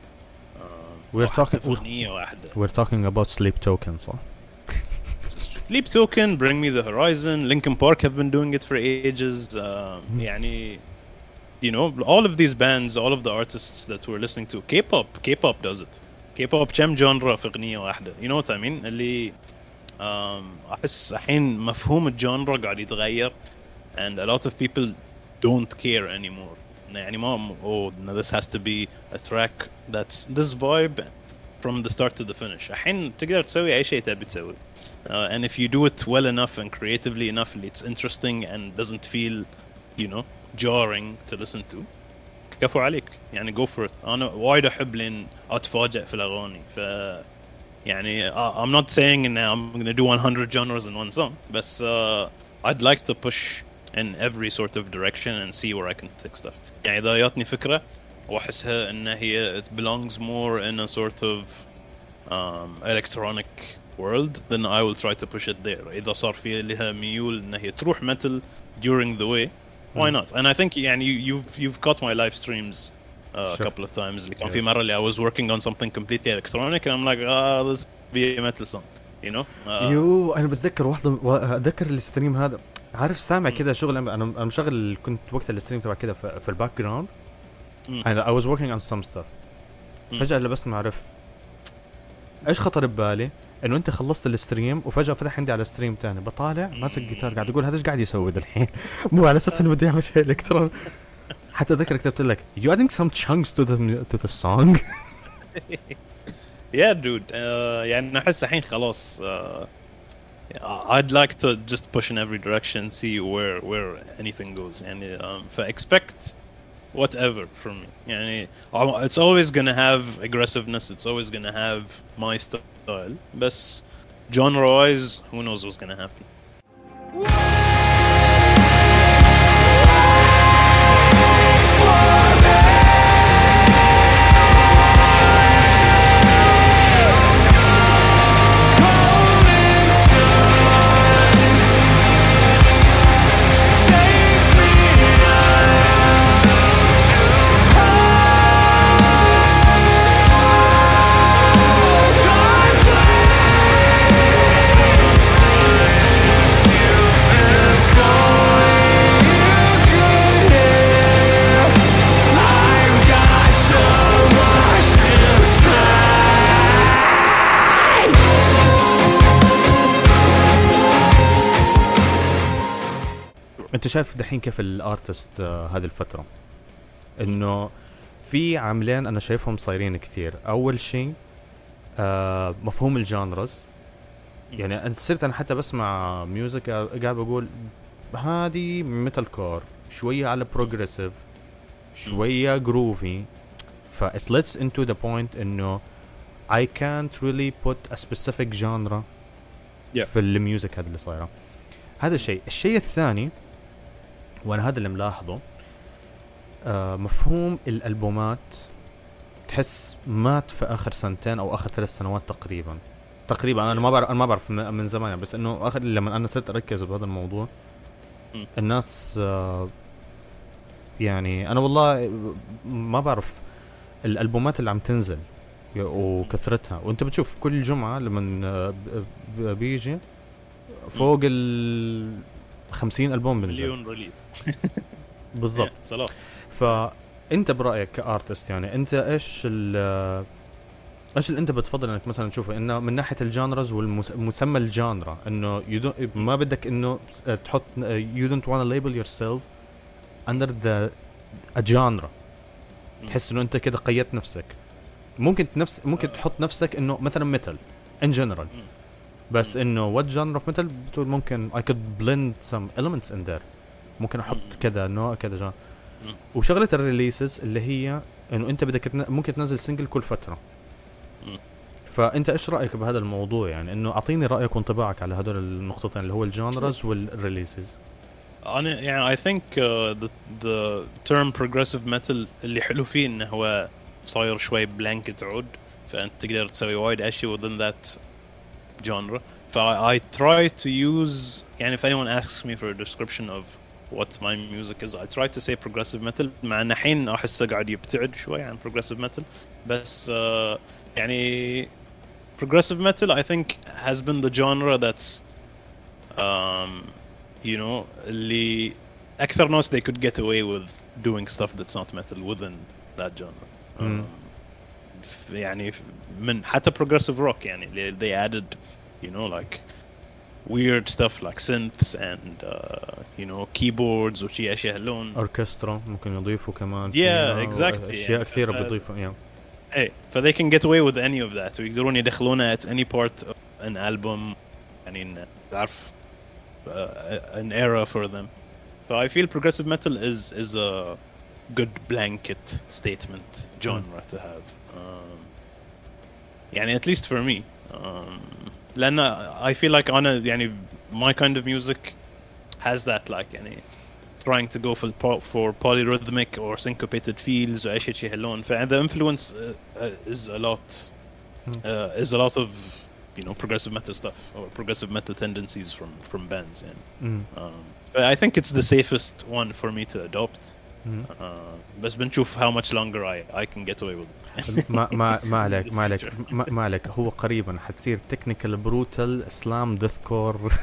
We're talking about Sleep Token, صح? Sleep Token, Bring Me the Horizon, Linkin Park have been doing it for ages. يعني you know all of these bands, all of the artists that we're listening to, K-pop does it. K-pop كم genre في أغنية واحدة. You know what I mean? اللي أحس الحين مفهوم الجانرا قاعد يتغير and a lot of people don't care anymore. يعني ما this has to be a track that's this vibe from the start to the finish. الحين تقدر تسوي أي شيء تبي تسوي. And if you do it well enough and creatively enough, it's interesting and doesn't feel, you know, jarring to listen to. كفو عليك. يعني go for it. أنا وايد أحب لين أتفاجأ في الأغاني. يعني I'm not saying I'm going to do 100 genres in one song, but I'd like to push in every sort of direction and see where I can take stuff. يعني إذا جاتني فكرة وأحسها إن هي it belongs more in a sort of electronic world, then I will try to push it there. إذا صار في لها ميول إن هي تروح metal during the way, why not? And I think يعني you've caught my live streams a couple of times. اللي كان في مرة اللي I was working on something completely electronic and I'm like this be a metal song, you know. أنا بتذكر أتذكر الستريم هذا، عارف سامع كذا شغل أنا مشغل كنت وقت الستريم تبع كذا في الباك جراوند and I was working on some stuff. فجأة اللي بس ما أعرف إيش خطر ببالي إنه أنت خلصت الستريم وفجأة فتح عندي على ستريم تاني بطالع ماسك جيتار قاعد أقول هذا إيش قاعد يسوي الحين مو على أساس إنه بدي أعمل شيء إلكترون. حتى ذكر كتبت لك you adding some chunks to the song. Yeah dude, يعني أحس الحين خلاص I'd like to just push in every direction, see where anything goes. يعني expect whatever from me. يعني it's always gonna have aggressiveness, it's always gonna have my style, but genre wise who knows what's gonna happen. انت شايف دحين كيف الارتست هذه الفترة انه في عاملين انا شايفهم صايرين كثير. اول شيء مفهوم الجانرز. يعني انا صرت انا حتى بسمع ميوزك قاعد بقول هذه ميتال كور شوية على بروجريسيف شوية جروفي ف it leads into the point انه I can't really put a specific genre في الميوزك هذا اللي صايرة. هذا الشيء الثاني وانا هذا اللي ملاحظه مفهوم الالبومات تحس مات في اخر سنتين او اخر 3 سنوات تقريبا. انا ما بعرف من زمان، بس انه اخر لما انا صرت اركز بهذا الموضوع الناس يعني انا والله ما بعرف الالبومات اللي عم تنزل وكثرتها، وانت بتشوف كل جمعة لما بيجي فوق 50 ألبوم بنزل مليون ريليز بالضبط. فأنت برأيك كأرتست يعني أنت إيش اللي أنت بتفضل إنك مثلا تشوفه إنه من ناحية الجانرز والمسمى الجانرا إنه ما بدك إنه تحط you don't want to label yourself under a genre. تحس إنه أنت كده قيدت نفسك. ممكن تحط نفسك إنه مثلا metal in general بس إنه what genre of metal بتقول ممكن I could blend some elements in there. ممكن أحط كذا نوع كذا genre. وشغله الريليسز اللي هي انه انت بدك ممكن تنزل سنجل كل فتره. فانت ايش رايك بهذا الموضوع؟ يعني انه اعطيني رايك وانطباعك على هدول النقطتين اللي هو الجانرز والريليسز. أنا يعني I think the term progressive metal اللي حلو فيه إنه هو صاير شوي blanket عود، فأنت تقدر تسوي وايد أشياء within that genre. I try to use يعني if anyone asks me for a description of what my music is, I try to say progressive metal. مع إن الحين أحسه قاعد يبتعد شوي عن progressive metal، بس يعني progressive metal I think has been the genre that's you know اللي أكثر ناس they could get away with doing stuff that's not metal within that genre. يعني من حتى progressive rock يعني they added you know like weird stuff like synths and you know keyboards وشي أشياء هاللون. أوركسترا ممكن يضيفوا كمان. Yeah, exactly. أشياء كثيرة بيضيفوا يعني. Hey, so they can get away with any of that. ويقدرون يدخلونه at any part of an album. يعني تعرف an era for them. So I feel progressive metal is a good blanket statement genre to have. يعني at least for me. لأن I feel like أنا يعني my kind of music has that like يعني trying to go for polyrhythmic or syncopated feels or شيء هاللون. The influence is a lot of you know progressive metal stuff or progressive metal tendencies from bands. يعني. But I think it's the safest one for me to adopt. بس بنشوف how much longer I can get away with it. ما عليك هو قريبا حتصير technical brutal slam deathcore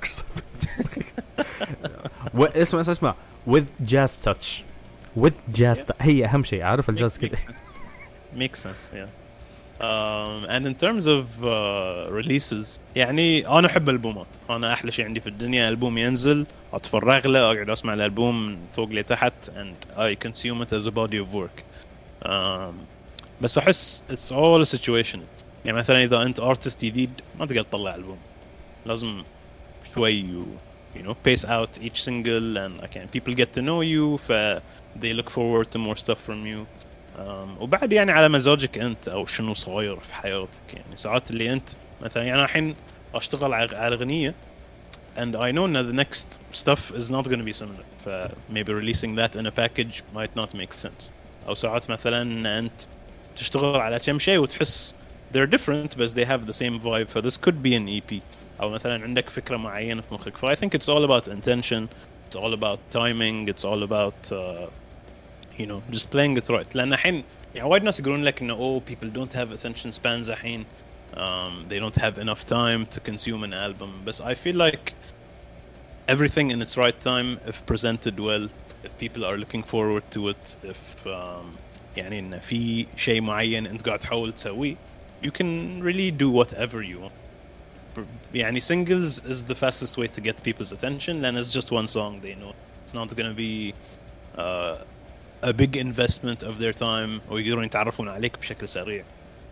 اسمع with jazz touch هي أهم شيء عارف الجاز كده. Makes sense yeah. And in terms of releases يعني أنا أحب الألبومات. أنا أحلى شيء عندي في الدنيا ألبوم ينزل أتفرغ له أقعد أسمع الألبوم من فوق لتحت and I consume it as a body of work. بس أحس it's all a situation. يعني مثلا إذا أنت artist جديد ما تقدر تطلع ألبوم، لازم شوي you know pace out each single and again people get to know you they look forward to more stuff from you. وبعد يعني على مزاجك أنت أو شنو صاير في حياتك. يعني ساعات اللي أنت مثلا يعني الحين أشتغل على أغنية and I know that the next stuff is not going to be similar. Maybe releasing that in a package might not make sense. أو ساعات مثلا أنت تشتغل على كم شيء وتحس they're different but they have the same vibe. This could be an EP. أو مثلا عندك فكرة معينة في مخك. I think it's all about intention. It's all about timing. It's all about you know just playing it right. لأن الحين يعني وايد ناس يقولون لك إنه people don't have attention spans الحين. They don't have enough time to consume an album. But I feel like everything in its right time, if presented well, if people are looking forward to it, if يعني إن في شيء معين أنت قاعد تحاول تسويه, you can really do whatever you want. يعني singles is the fastest way to get people's attention, and it's just one song. They know it's not going to be a big investment of their time ويقدرون يتعرفون عليك بشكل سريع.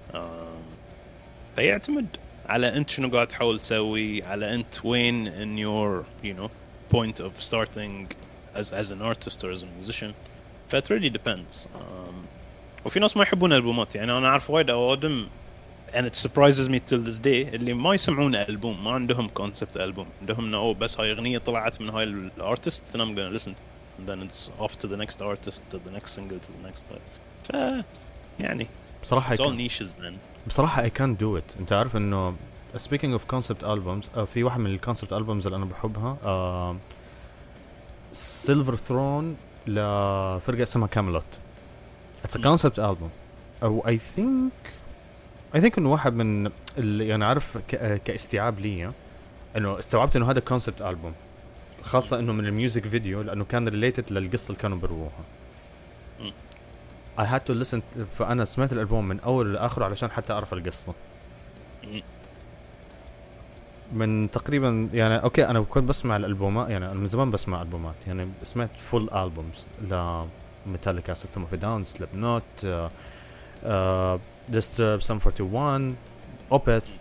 فيعتمد على أنت شنو قاعد تحاول تسوي, على أنت وين in your you know point of starting as an artist or as a musician. It really depends. وفي ناس ما يحبون الألبومات. يعني أنا أعرف وايد أوادم and it surprises me till this day اللي ما يسمعون ألبوم, ما عندهم concept ألبوم, عندهم إنه بس هاي أغنية طلعت من هاي الارتست and I'm gonna listen and then it's off to the next artist, to the next single, to the next. يعني بصراحة it's all niches man. بصراحة I can't do it. أنت عارف إنه speaking of concept albums في واحد من الconcept albums اللي أنا بحبها Silver Throne لفرقة اسمها Camelot. It's a concept album. أو I think إنه واحد من اللي يعني عارف كاستيعاب لي إنه استوعبت إنه هذا concept album, خاصة إنه من الميوزك فيديو لأنه كان related للقصة اللي كانوا بيروها. I had to listen. فأنا سمعت الألبوم من أول لآخره علشان حتى أعرف القصة. من تقريبا يعني أوكي أنا كنت بسمع الألبومات, يعني من زمان بسمع ألبومات, يعني سمعت full albums لميتاليكا, System of a Down, Slipknot, Disturbed, Sum 41, Opeth.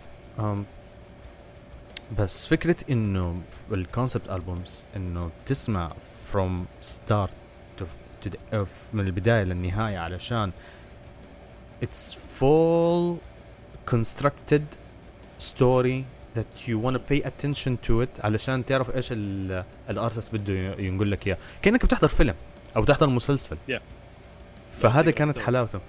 بس فكرة إنه الكونسبت ألبومز إنه تسمع from start to من البداية للنهاية علشان it's full constructed story that you want to pay attention to it علشان تعرف ايش الارتست بده ينقل لك اياه كأنك بتحضر فيلم او بتحضر مسلسل. فهذا كانت حلاوته.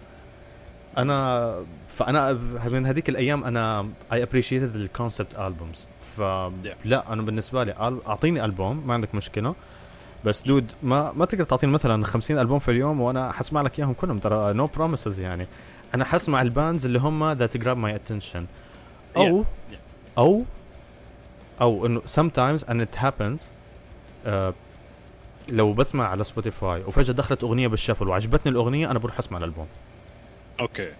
فانا من هذيك الايام انا I appreciated the concept albums. فلا انا بالنسبه لي اعطيني البوم ما عندك مشكله بس دود ما تقدر تعطيني مثلا 50 البوم في اليوم وانا حسمع لك اياهم كلهم ترى no promises يعني. انا حسمع الباندز اللي هم that grab my attention او انه sometimes and it happens لو بسمع على سبوتيفاي وفجأة دخلت اغنية بالشفل وعجبتني الاغنية انا بروح اسمع الالبوم. اوكي.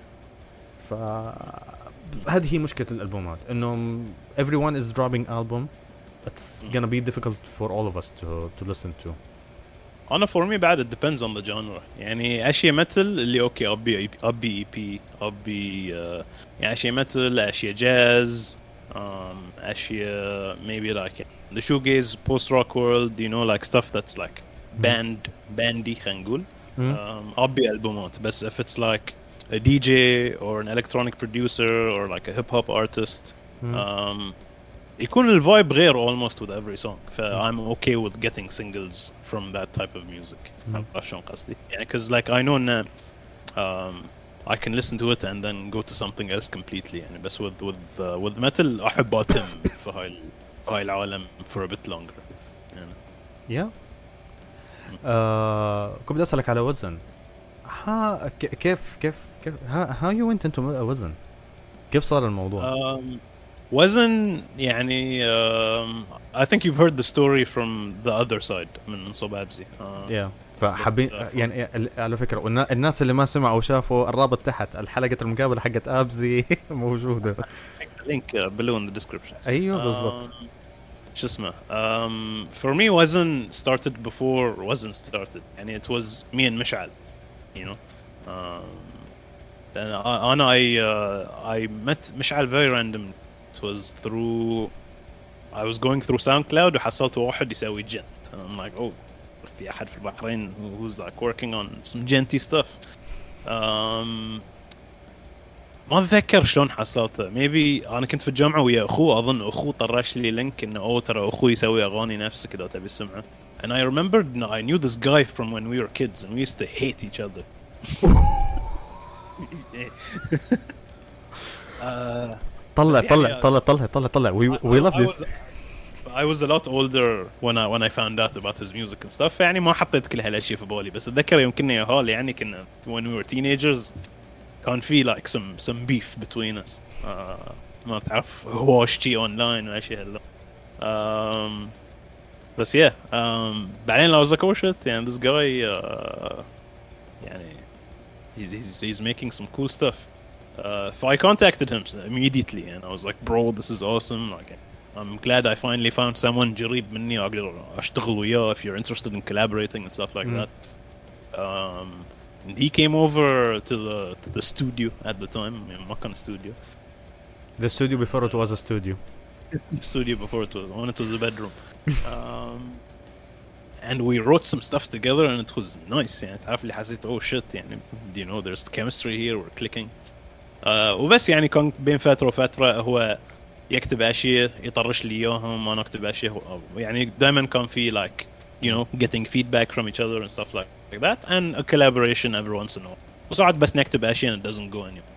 هذه هي مشكلة الالبومات انه everyone is dropping album. It's gonna be difficult for all of us to listen to. أنا for me بعد it depends on the genre. يعني أشياء مثل اللي أوكي أبي EP أبي يعني أشياء مثل أشياء جاز أشياء maybe like the shoegaze post rock world you know like stuff that's like bandy خلينا نقول أبي ألبومات. بس if it's like a DJ or an electronic producer or like a hip hop artist يكون الفايب غير almost with every song. I'm okay with getting singles from that type of music. عشان قصدي يعني cause like I know now I can listen to it and then go to something else completely يعني. بس with metal أحب أتم في هاي العالم for a bit longer يعني. كنت بدي أسألك على وزن. كيف how you went into وزن؟ كيف صار الموضوع؟ وزن يعني I think you've heard the story from the other side من صبابزي. فحابين يعني على فكرة الناس اللي ما سمعوا وشافوا الرابط تحت الحلقة المقابلة حقت أبزي موجودة. link below in the description. أيوة بالضبط. شو اسمه for me وزن started before وزن started يعني it was me and مشعل you know and I met مشعل very random. It was through I was going through SoundCloud وحصلت واحد يسوي جنت and I'm like oh في أحد في البحرين who's like working on some genty stuff. ما أتذكر شلون حصلته. maybe أنا كنت في الجامعة ويا أخوه أظن أخوه طرش لي لينك إنه ترى أخوي يسوي أغاني نفسه كذا تبي تسمعه. and I remembered I knew this guy from when we were kids and we used to hate each other. طلع we love this. I was a lot older when I found out about his music and stuff يعني ما حطيت كل هالاشياء في بالي. بس اتذكر يوم كنا ياهال يعني كنا when we were teenagers كان في like some beef between us. ما تعرف هواشتي online واشياء هلا. بس بعدين I was like oh shit and this guy يعني he's making some cool stuff. So I contacted him immediately and I was like bro this is awesome like I'm glad I finally found someone جريب مني أقدر أشتغل وياه if you're interested in collaborating and stuff like that. And he came over to the studio at the time. ما كان studio. The studio before it was a studio. The studio before it was a bedroom. And we wrote some stuff together and it was nice يعني تعرف اللي حسيت oh shit يعني you know there's chemistry here we're clicking. وبس يعني كان بين فترة وفترة هو يكتب أشياء يطرش لي إياهم وأنا أكتب أشياء يعني دائما كان في like you know getting feedback from each other and stuff like that and a collaboration every once in a while. وساعات بس نكتب أشياء and it doesn't go anywhere.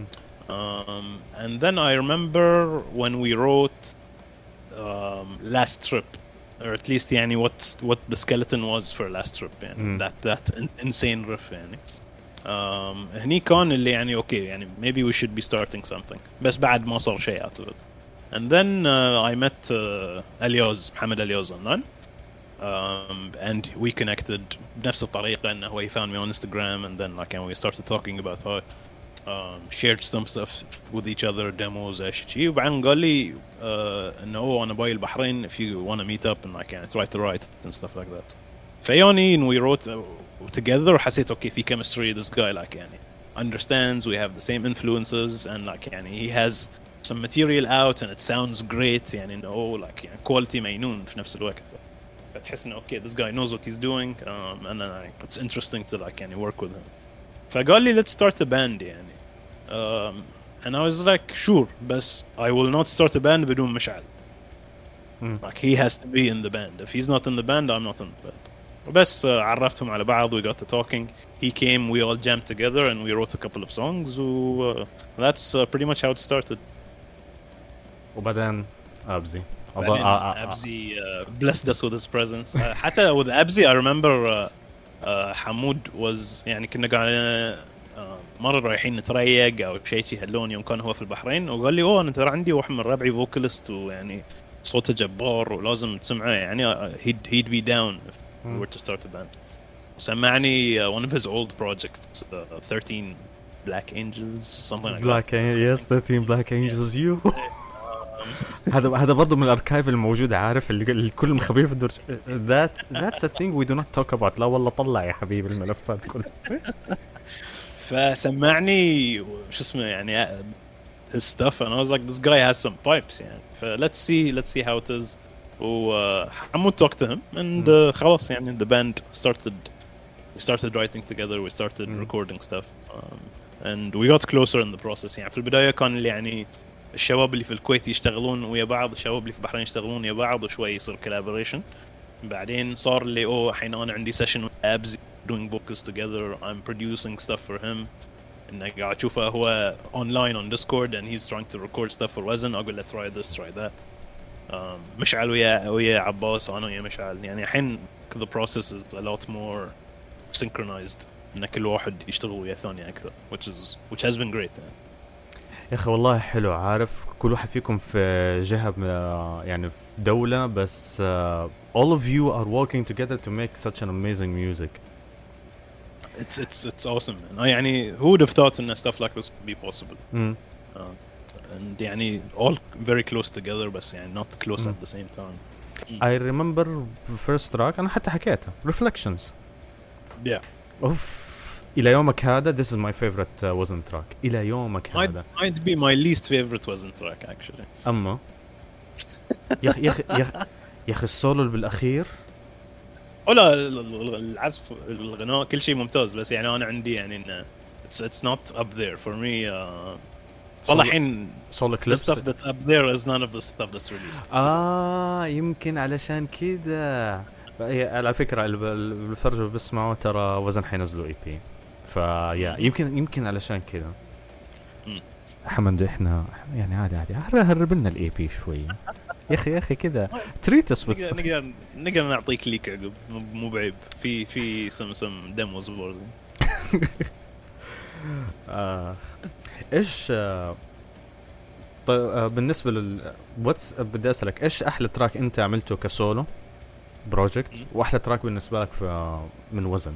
And then I remember when we wrote Last Trip or at least يعني what the skeleton was for Last Trip يعني that insane riff يعني. هني كان اللي يعني اوكي يعني maybe we should be starting something بس بعد ما صار شيء out of it. And then I met اليوز محمد اليوز online and we connected بنفس الطريقة انه he found me on Instagram and then like and we started talking about how shared some stuff with each other demos اشي وبعدين قال لي انه انا باي البحرين if you want to meet up and like and try to write and stuff like that. فيوني and we wrote together وحسيت okay في chemistry this guy like يعني understands we have the same influences and like يعني he has some material out and it sounds great يعني انه like يعني quality مينون في نفس الوقت. فتحس إنه okay this guy knows what he's doing and then it's interesting to like يعني work with him. فقال لي let's start a band يعني. And I was like sure بس I will not start a band بدون مشعل. Like he has to be in the band. If he's not in the band I'm not in the band. بس عرفتهم على بعض, we got to talking. He came, we all jammed together and we wrote a couple of songs. That's pretty much how it started. وبعدين أبزي Abzi blessed us with his presence. حتى with Abzi I remember حمود was يعني كنا قاعدين مرة رايحين نتريق أو شيء هاللون يوم كان هو في البحرين, وقال لي أنا ترى عندي واحد من ربعي فوكاليست ويعني صوته جبار ولازم تسمعه يعني he'd be down if we were to start a band. سمعني one of his old projects 13 Black Angels something like Black that. Yes 13 Black Angels you هذا برضو من الاركايف الموجودة, عارف اللي الكل مخبيه في الدرج. That's a thing we do not talk about. لا والله طلع يا حبيبي الملفات كلها. فسمعني شو اسمه يعني his stuff and I was like this guy has some pipes يعني. let's see how it is. وحمود talked to him and خلاص يعني the band we started writing together, we started recording stuff and we got closer in the process. يعني في البداية كان اللي يعني الشباب اللي في الكويت يشتغلون ويا بعض, الشباب اللي في البحرين يشتغلون ويا بعض, وشوي يصير collaboration. بعدين صار اللي الحين أنا عندي session with Abzi doing vocals together, I'm producing stuff for him. إنه قاعد أشوفه هو online on Discord and he's trying to record stuff for Wazn. أقول له try this, try that. مشعل ويا عباس, أنا ويا مشعل. يعني الحين the process is a lot more synchronized. إن كل واحد يشتغل ويا الثاني أكثر, which has been great. يا أخي والله حلو, عارف كل واحد فيكم في جهة يعني في دولة, بس all of you are working together to make such an amazing music. It's awesome, man. يعني who would have thought that stuff like this would be possible? And يعني all very close together, but يعني not close at the same time. I remember first track أنا حتى حكيتها Reflections. Yeah. أوف, إلى يومك هذا this is my favorite Wazn track. إلى يومك هذا might be my least favorite Wazn track actually. أما يا أخي السولو اللي بالأخير ولا العزف الغناء كل شيء ممتاز, بس يعني أنا عندي يعني إنه it's not up there for me. والله الحين solo the clips stuff that's up there is none of the stuff that's released. يمكن علشان كده. على فكرة الفرج بسمعه ترى وزن حينزلوا اي بي, فيا يمكن علشان كده. حمد احنا يعني عادي هرب لنا الاي بي شوي يا اخي كده تريتس بس نقدر نعطيك ليك عقب, مو بعيب في سم ديموز برضه. ايش طيب بالنسبه بدي اسالك ايش احلى تراك انت عملته كسولو بروجكت, واحلى تراك بالنسبه لك من وزن؟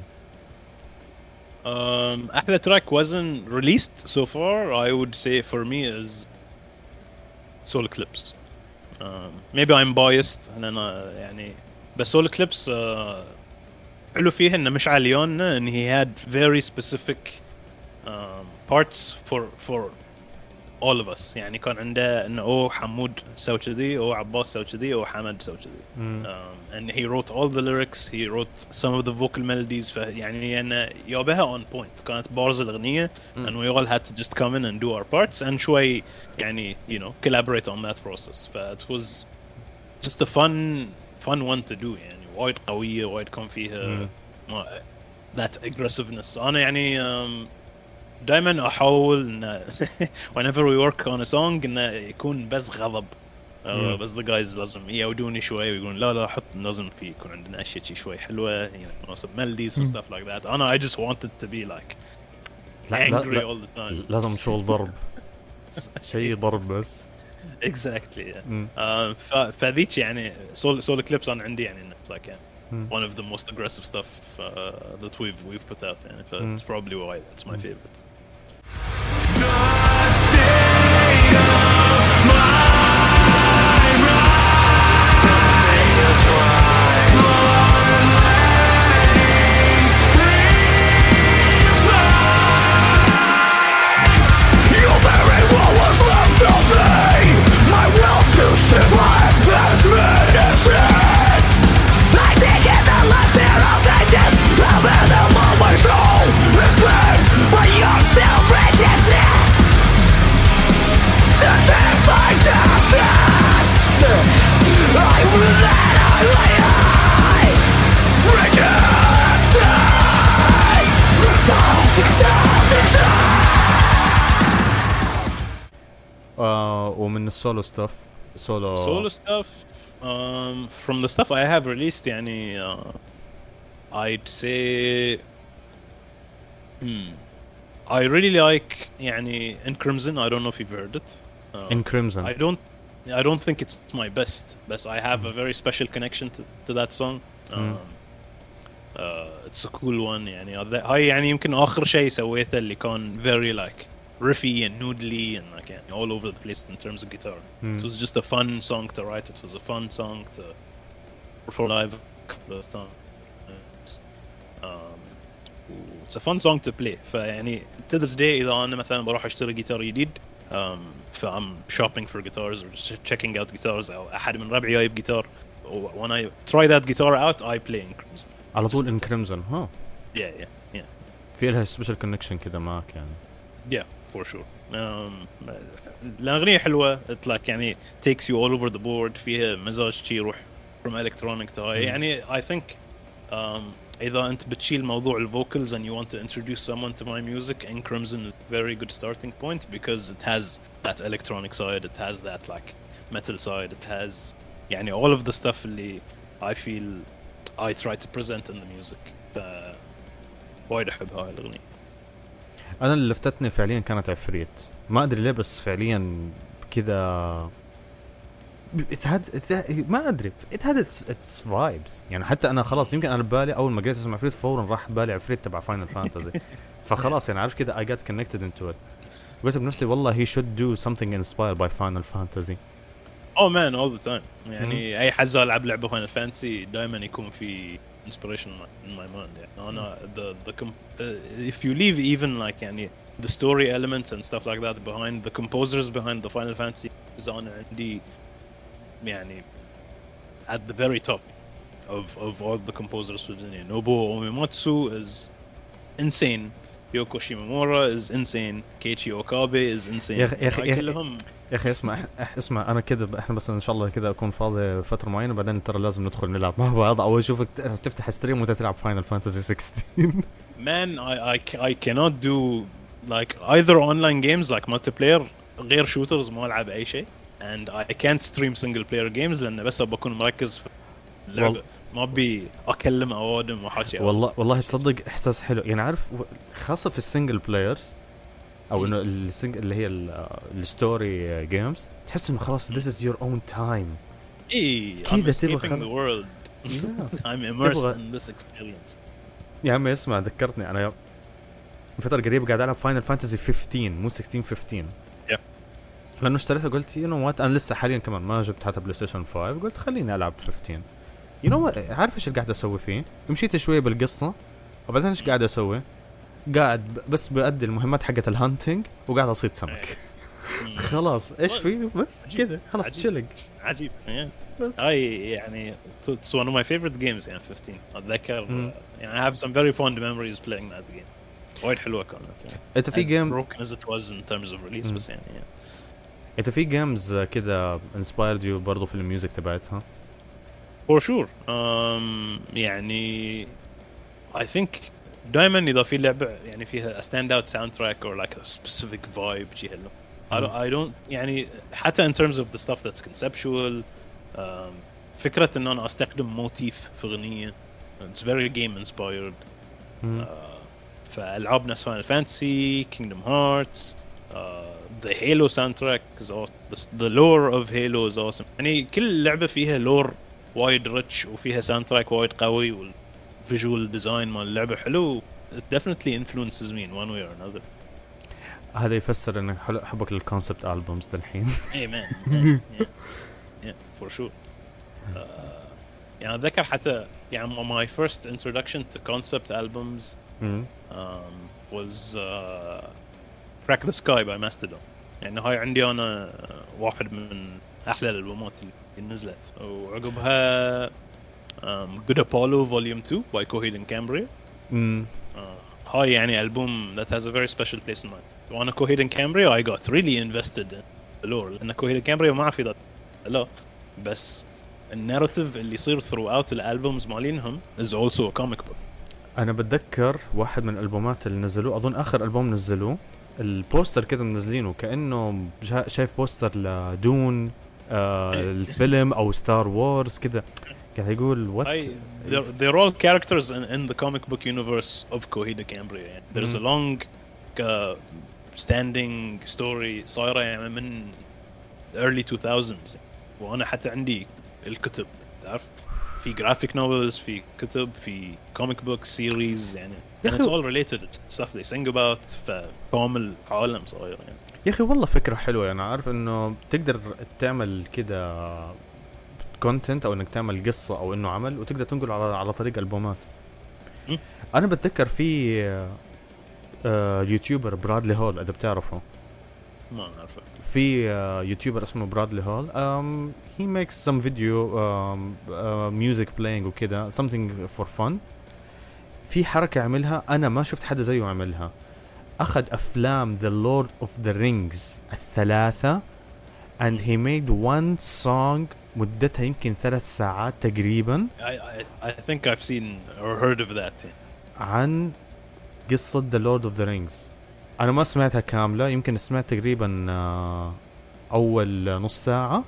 احلى تراك وزن released so far I would say for me is Solar Eclipse. Maybe I'm biased انا يعني, بس Solar Eclipse حلو فيه انه مش عليون ان he had very specific parts for all of us. يعني كان عنده انه حمود سوى كذي, عباس سوى كذي, حمد سوى كذي. and he wrote all the lyrics, he wrote some of the vocal melodies. يعني انه يابها on point, كانت بارز الاغنيه and we all had to just come in and do our parts and شوي يعني collaborate on that process. it was just a fun one to do. يعني وايد قويه, وايد كان فيها that aggressiveness. انا يعني دائما احاول ان whenever we work on a song انه يكون بس غضب, بس the guys لازم يودوني شوي ويقولون لا حط لازم في يكون عندنا اشياء شوي حلوه, مناسب melodies and stuff like that. I just wanted to be like angry all the time. لازم شغل ضرب شيء ضرب بس. exactly. فذيك يعني Solar Eclipse انا عندي يعني like one of the most aggressive stuff that we've put out يعني. It's probably why it's my favorite. My will to survive has been defeated. I ومن السولو ستاف solo stuff. From the stuff I have released يعني I'd say I really like يعني In Crimson. I don't know if you've heard it. In Crimson. I don't think it's my best, but I have a very special connection to that song. It's a cool one يعني هاي يعني يمكن آخر شيء سويته اللي كان very like riffy and noodly and like يعني all over the place in terms of guitar. It was just a fun song to write. It was a fun song to perform live a couple of times. It's a fun song to play. فيعني to this day إذا أنا مثلا بروح أشتري جيتار جديد I'm shopping for guitars or just checking out guitars أو أحد من ربعي جايب جيتار, when I try that guitar out I play In Crimson. على طول In Crimson. ها. Yeah. في لها special connection كذا معك يعني. Yeah, for sure. الأغنية حلوة. It like يعني takes you all over the board. فيها مزاج شي يروح from electronic to يعني I think إذا أنت بتشيل موضوع الفوكالز and you want to introduce someone to my music, In Crimson is a very good starting point because it has that electronic side, it has that like metal side, it has يعني all of the stuff اللي I feel I try to present in the music. وايد أحب هاي الأغنية. أنا اللي لفتتني فعليا كانت عفريت, ما أدري ليه بس فعليا كذا ما أدري it had its vibes يعني. حتى أنا خلاص يمكن أنا ببالي أول ما قلت اسمع عفريت فورا راح بالي عفريت تبع Final Fantasy. فخلاص يعني عارف كذا I got connected into it. قلت بنفسي والله he should do something inspired by Final Fantasy. Oh man, all the time. يعني أي حزة ألعب لعبة Final Fantasy دائما يكون في inspiration in my mind. يعني أنا if you leave even like يعني the story elements and stuff like that behind, the composers behind the Final Fantasy is on عندي يعني at the very top of all the composers في الدنيا. Nobuo Uematsu is insane. Yoko Shimomura is insane. Keiichi Okabe is insane. يا أخي اسمع أنا كده إحنا بس إن شاء الله كده أكون فاضي فترة معينة بعدين ترى لازم ندخل نلعب مع بعض أو أشوفك تفتح ستريم وتلعب Final Fantasy 16. Man, I cannot do like either online games like multiplayer غير shooters ما ألعب أي شيء, and I can't stream single player games لأن بس بكون مركز في اللعبة ما بي أكلم أوادم وحكي. والله تصدق إحساس حلو يعني عارف خاصة في السنجل بلايرز أو إنه اللي هي الستوري جيمز تحس إنه خلاص this is your own time. إيه I'm escaping the world. I'm immersed in this experience. يا عمي اسمع ذكرتني أنا فترة قريبة قاعد ألعب Final Fantasy 15 مو 16 لأنه اشتريتها قلت you know what أنا لسه حاليا كمان ما جبت حتى بلاي ستيشن 5 قلت خليني ألعب 15. you know what عارف إيش قاعد أسوي فيه؟ مشيت شوية بالقصة وبعدين إيش قاعد أسوي؟ قاعد بس بأدي المهمات حقة الهانتينج وقاعد أصيد سمك. خلاص إيش فيه بس كده خلاص تشلق. عجيب بس هاي يعني it's one of my favorite games يعني 15 أتذكر يعني I have some very fond memories playing that game. وايد حلوة كانت يعني. أنت في جيم broken as it was in terms of release بس يعني أنت في جيمز كده inspired you برضو في الميوزك تبعتها؟ for sure. يعني I think دائما إذا في لعبة يعني فيها a standout soundtrack or like a specific vibe جي هلو I don't يعني حتى in terms of the stuff that's conceptual. فكرة إن أنا أستخدم موتيف في أغنية it's very game inspired. فألعاب نفس Final Fantasy, Kingdom Hearts, the Halo soundtrack is awesome. The lore of Halo is awesome. يعني كل لعبة فيها lore وايد rich وفيها soundtrack وايد قوي والvisual design مال اللعبة حلو. It definitely influences me in one way or another. هذا يفسر إنك حبك للconcept albums دالحين. Hey man, yeah, for sure. يعني أتذكر حتى يعني my first introduction to concept albums was Crack the Sky by Mastodon. يعني هاي عندي أنا واحد من أحلى الألبومات اللي نزلت. وعقبها Good Apollo Volume 2 by Coheed and Cambria. هاي يعني ألبوم that has a very special place in my life. وأنا Coheed and Cambria I got really invested in the lore لأن Coheed and Cambria ما في لا بس الناراتيف اللي يصير throughout الألبومز مالينهم is also a comic book. أنا بتذكر واحد من الألبومات اللي نزلوه أظن آخر ألبوم نزلوه البوستر كده منزلينه كأنه شايف بوستر لدون الفيلم او ستار وورز كده. قاعد يقول what they're all characters in the comic book universe of Coheed Cambria يعني. There's a long standing story صايرة يعني من early 2000s وانا حتى عندي الكتب تعرف في graphic novels في كتب في comic book series يعني and it's all related stuff they sing about فكامل عالم صاير يعني. يا اخي والله فكرة حلوة. انا عارف انه تقدر تعمل كده كونتنت او انك تعمل قصة او انه عمل وتقدر تنقل على طريق البومات. انا بتذكر في يوتيوبر برادلي هول اذا بتعرفه. ما أعرفه. في يوتيوبر اسمه برادلي هول he makes some video music playing وكده something for fun. في حركة عملها أنا ما شفت حدا زيه عملها. أخذ أفلام The Lord of the Rings الثلاثة and he made one song مدتها يمكن 3 ساعات تقريبا. I think I've seen or heard of that عن قصة The Lord of the Rings. أنا ما سمعتها كاملة يمكن سمعت تقريبا أول نص ساعة.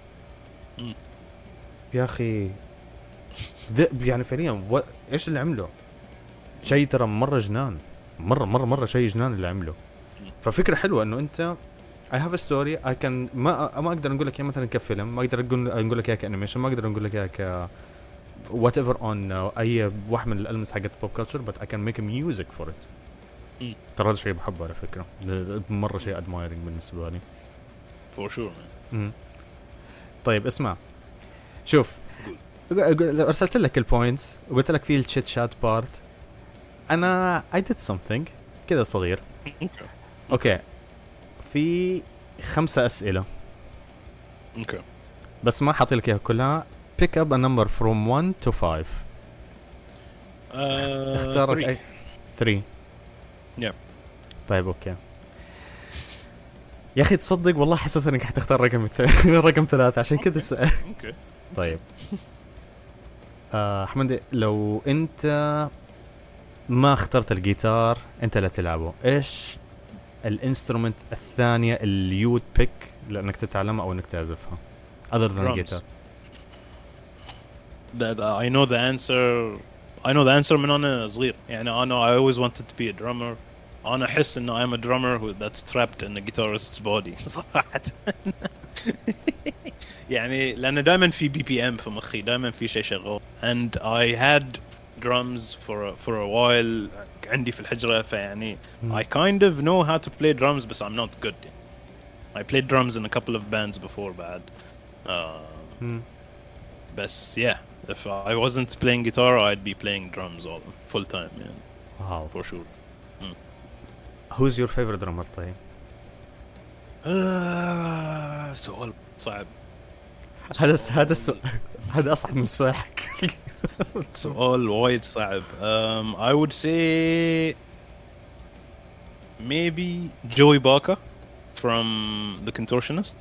يا أخي يعني فعليا إيش اللي عمله شيء ترى مرة جنان مرة شيء جنان اللي عمله. ففكرة حلوة إنه أنت I have a story I can ما أقدر نقول لك مثلا كفيلم ما أقدر نقول لك كأنيميشن ما أقدر نقول لك ك whatever on أي واحد من الألمس حقت pop culture but I can make music for it. ترى هذا شيء بحبه على فكرة مرة شيء admiring بالنسبة لي for sure. طيب اسمع شوف أرسلت لك البوينتس وقلت لك في الشات شات بارت. أنا I did something كذا صغير. أوكي في 5 أسئلة. أوكي بس ما حاطي لك إياها كلها. pick up a number from 1 to 5. اختار أي 3. yeah. طيب أوكي يا أخي تصدق والله حسيت إنك حتختار رقم 3 عشان كذا أوكي طيب أحمد لو أنت ما اخترت الجيتار أنت لا تلعبه إيش الانسترومنت الثانية اللي يود بيك لأنك تتعلمها أو إنك تعزفها other than guitar. I know the answer من أنا صغير يعني I always wanted to be a drummer. أنا أحس إنه I'm a drummer that's trapped in a guitarist's body صراحة. يعني لأن دائما في BPM في مخي دائما في شيء شغال and I had drums for a while عندي في الحجرة فيعني I kind of know how to play drums but I'm not good. I played drums in a couple of bands before بعد. بس yeah if I wasn't playing guitar I'd be playing drums all full time يعني. Wow. For sure. Who's your favorite drummer طيب؟ سؤال صعب. هذا أصعب من سؤالك. سؤال وايد صعب. I would say maybe Joey Barker from The Contortionist.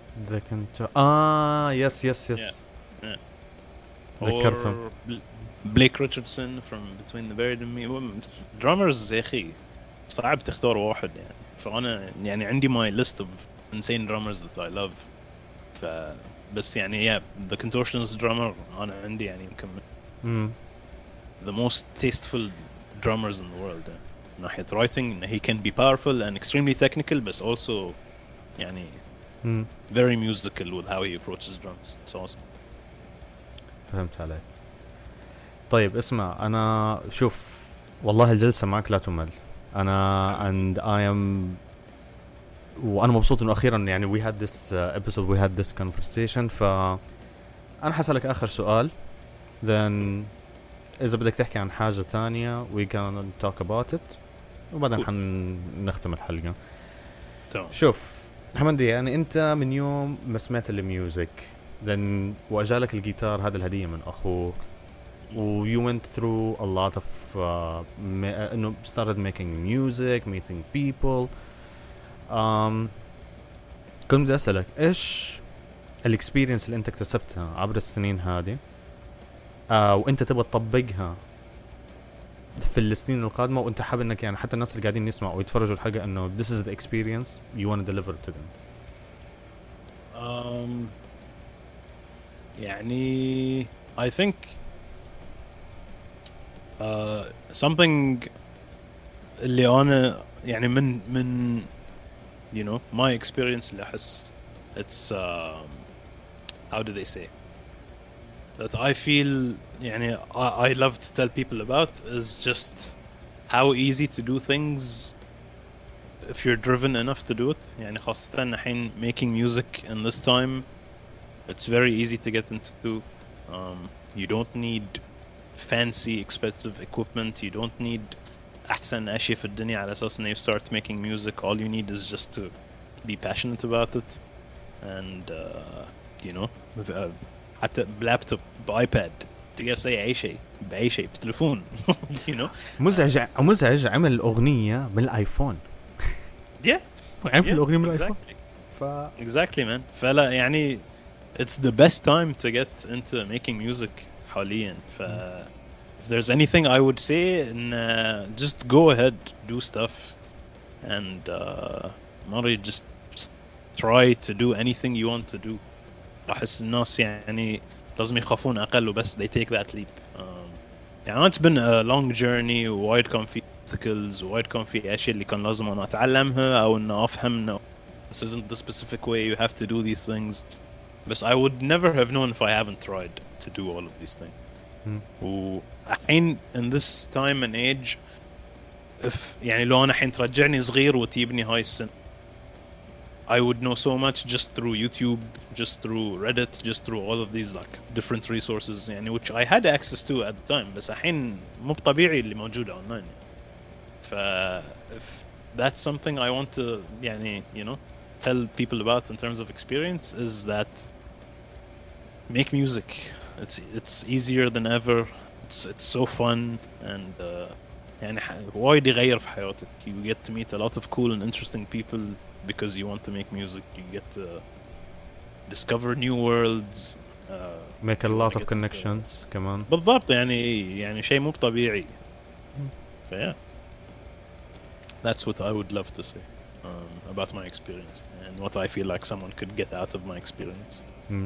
Yes. Yeah. ذكرتهم. Blake Richardson from Between the Buried and Me. Drummers يا أخي صعب تختار واحد يعني. فأنا يعني عندي my list of insane drummers that I love. بس يعني yeah The Contortionist drummer أنا عندي يعني يمكن the most tasteful drummers in the world. من ناحية writing he can be powerful and extremely technical but also يعني very musical with how he approaches drums. It's awesome. فهمت عليك. طيب اسمع أنا شوف والله الجلسة معك لا تمل. أنا and I am وأنا مبسوط إنه أخيرا يعني we had this episode we had this conversation. فأنا حسألك آخر سؤال then إذا بدك تحكي عن حاجة ثانية we can talk about it وبعدين حنختم الحلقة. شوف حمدي يعني أنت من يوم ما سمعت الميوزك then وأجالك الجيتار هذا الهدية من أخوك و you went through a lot of إنه started making music meeting people. كنت بدي أسألك إيش الإكسبيرينس اللي أنت اكتسبتها عبر السنين هذه وأنت تبغى تطبقها في السنين القادمة وانت حابب انك يعني حتى الناس اللي قاعدين يسمعوا ويتفرجوا الحلقة انه this is the experience you want to deliver to them. يعني I think something اللي أنا يعني من you know my experience اللي أحس it's how do they say that I feel يعني I love to tell people about is just how easy to do things if you're driven enough to do it. يعني خاصة الحين making music in this time it's very easy to get into. You don't need fancy expensive equipment, you don't need أحسن أشياء في الدنيا على أساس إن you start making music. All you need is just to be passionate about it and you know حتى بلابتوب بايباد تقدر تسوي أي شيء بأي شيء بتليفون you know. مزعج عمل أغنية من الآيفون. yeah عمل أغنية من الآيفون. exactly man. فلا يعني it's the best time to get into making music حاليا. if there's anything I would say just go ahead, do stuff and Mari just try to do anything you want to do. أحس الناس يعني لازم يخافون أقل وبس they take that leap. يعني it's been a long journey وايد كان في obstacles وايد كان في أشياء اللي كان لازم أنا أتعلمها أو إن أفهم إنه this isn't the specific way you have to do these things. But I would never have known if I haven't tried to do all of these things. وحين in this time and age if يعني لو أنا حين ترجعني صغير وتجيبني هاي السنة I would know so much just through YouTube, just through Reddit, just through all of these like different resources يعني which I had access to at the time. بس الحين مو طبيعي اللي موجودة online. if that's something I want to يعني you know tell people about in terms of experience is that make music. It's easier than ever. It's so fun and يعني وايد يغير في حياتك. You get to meet a lot of cool and interesting people because you want to make music. You get to discover new worlds. Make a lot of connections كمان. بالضبط يعني شيء مو طبيعي. yeah. That's what I would love to say about my experience and what I feel like someone could get out of my experience.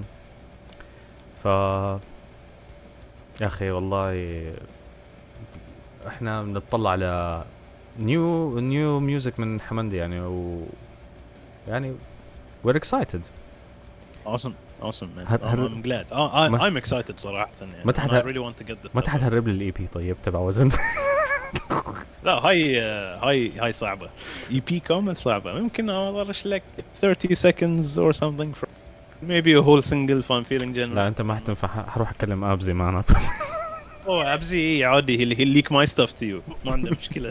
يا أخي والله إحنا بنطلع على new music من حمندي يعني يعني we're excited. Awesome man. I'm glad. I'm excited صراحة يعني. I really want to get the. ما تحرب لي الEP طيب تبع وزن. لا هاي صعبة. EP كامل صعبة. ممكن أضرش لك 30 seconds or something from maybe a whole single if I'm feeling general. لا أنت ما حتنفع. هروح أكلم أبزي معناته. أبزي عادي he'll leak my stuff to you. ما عنده مشكلة.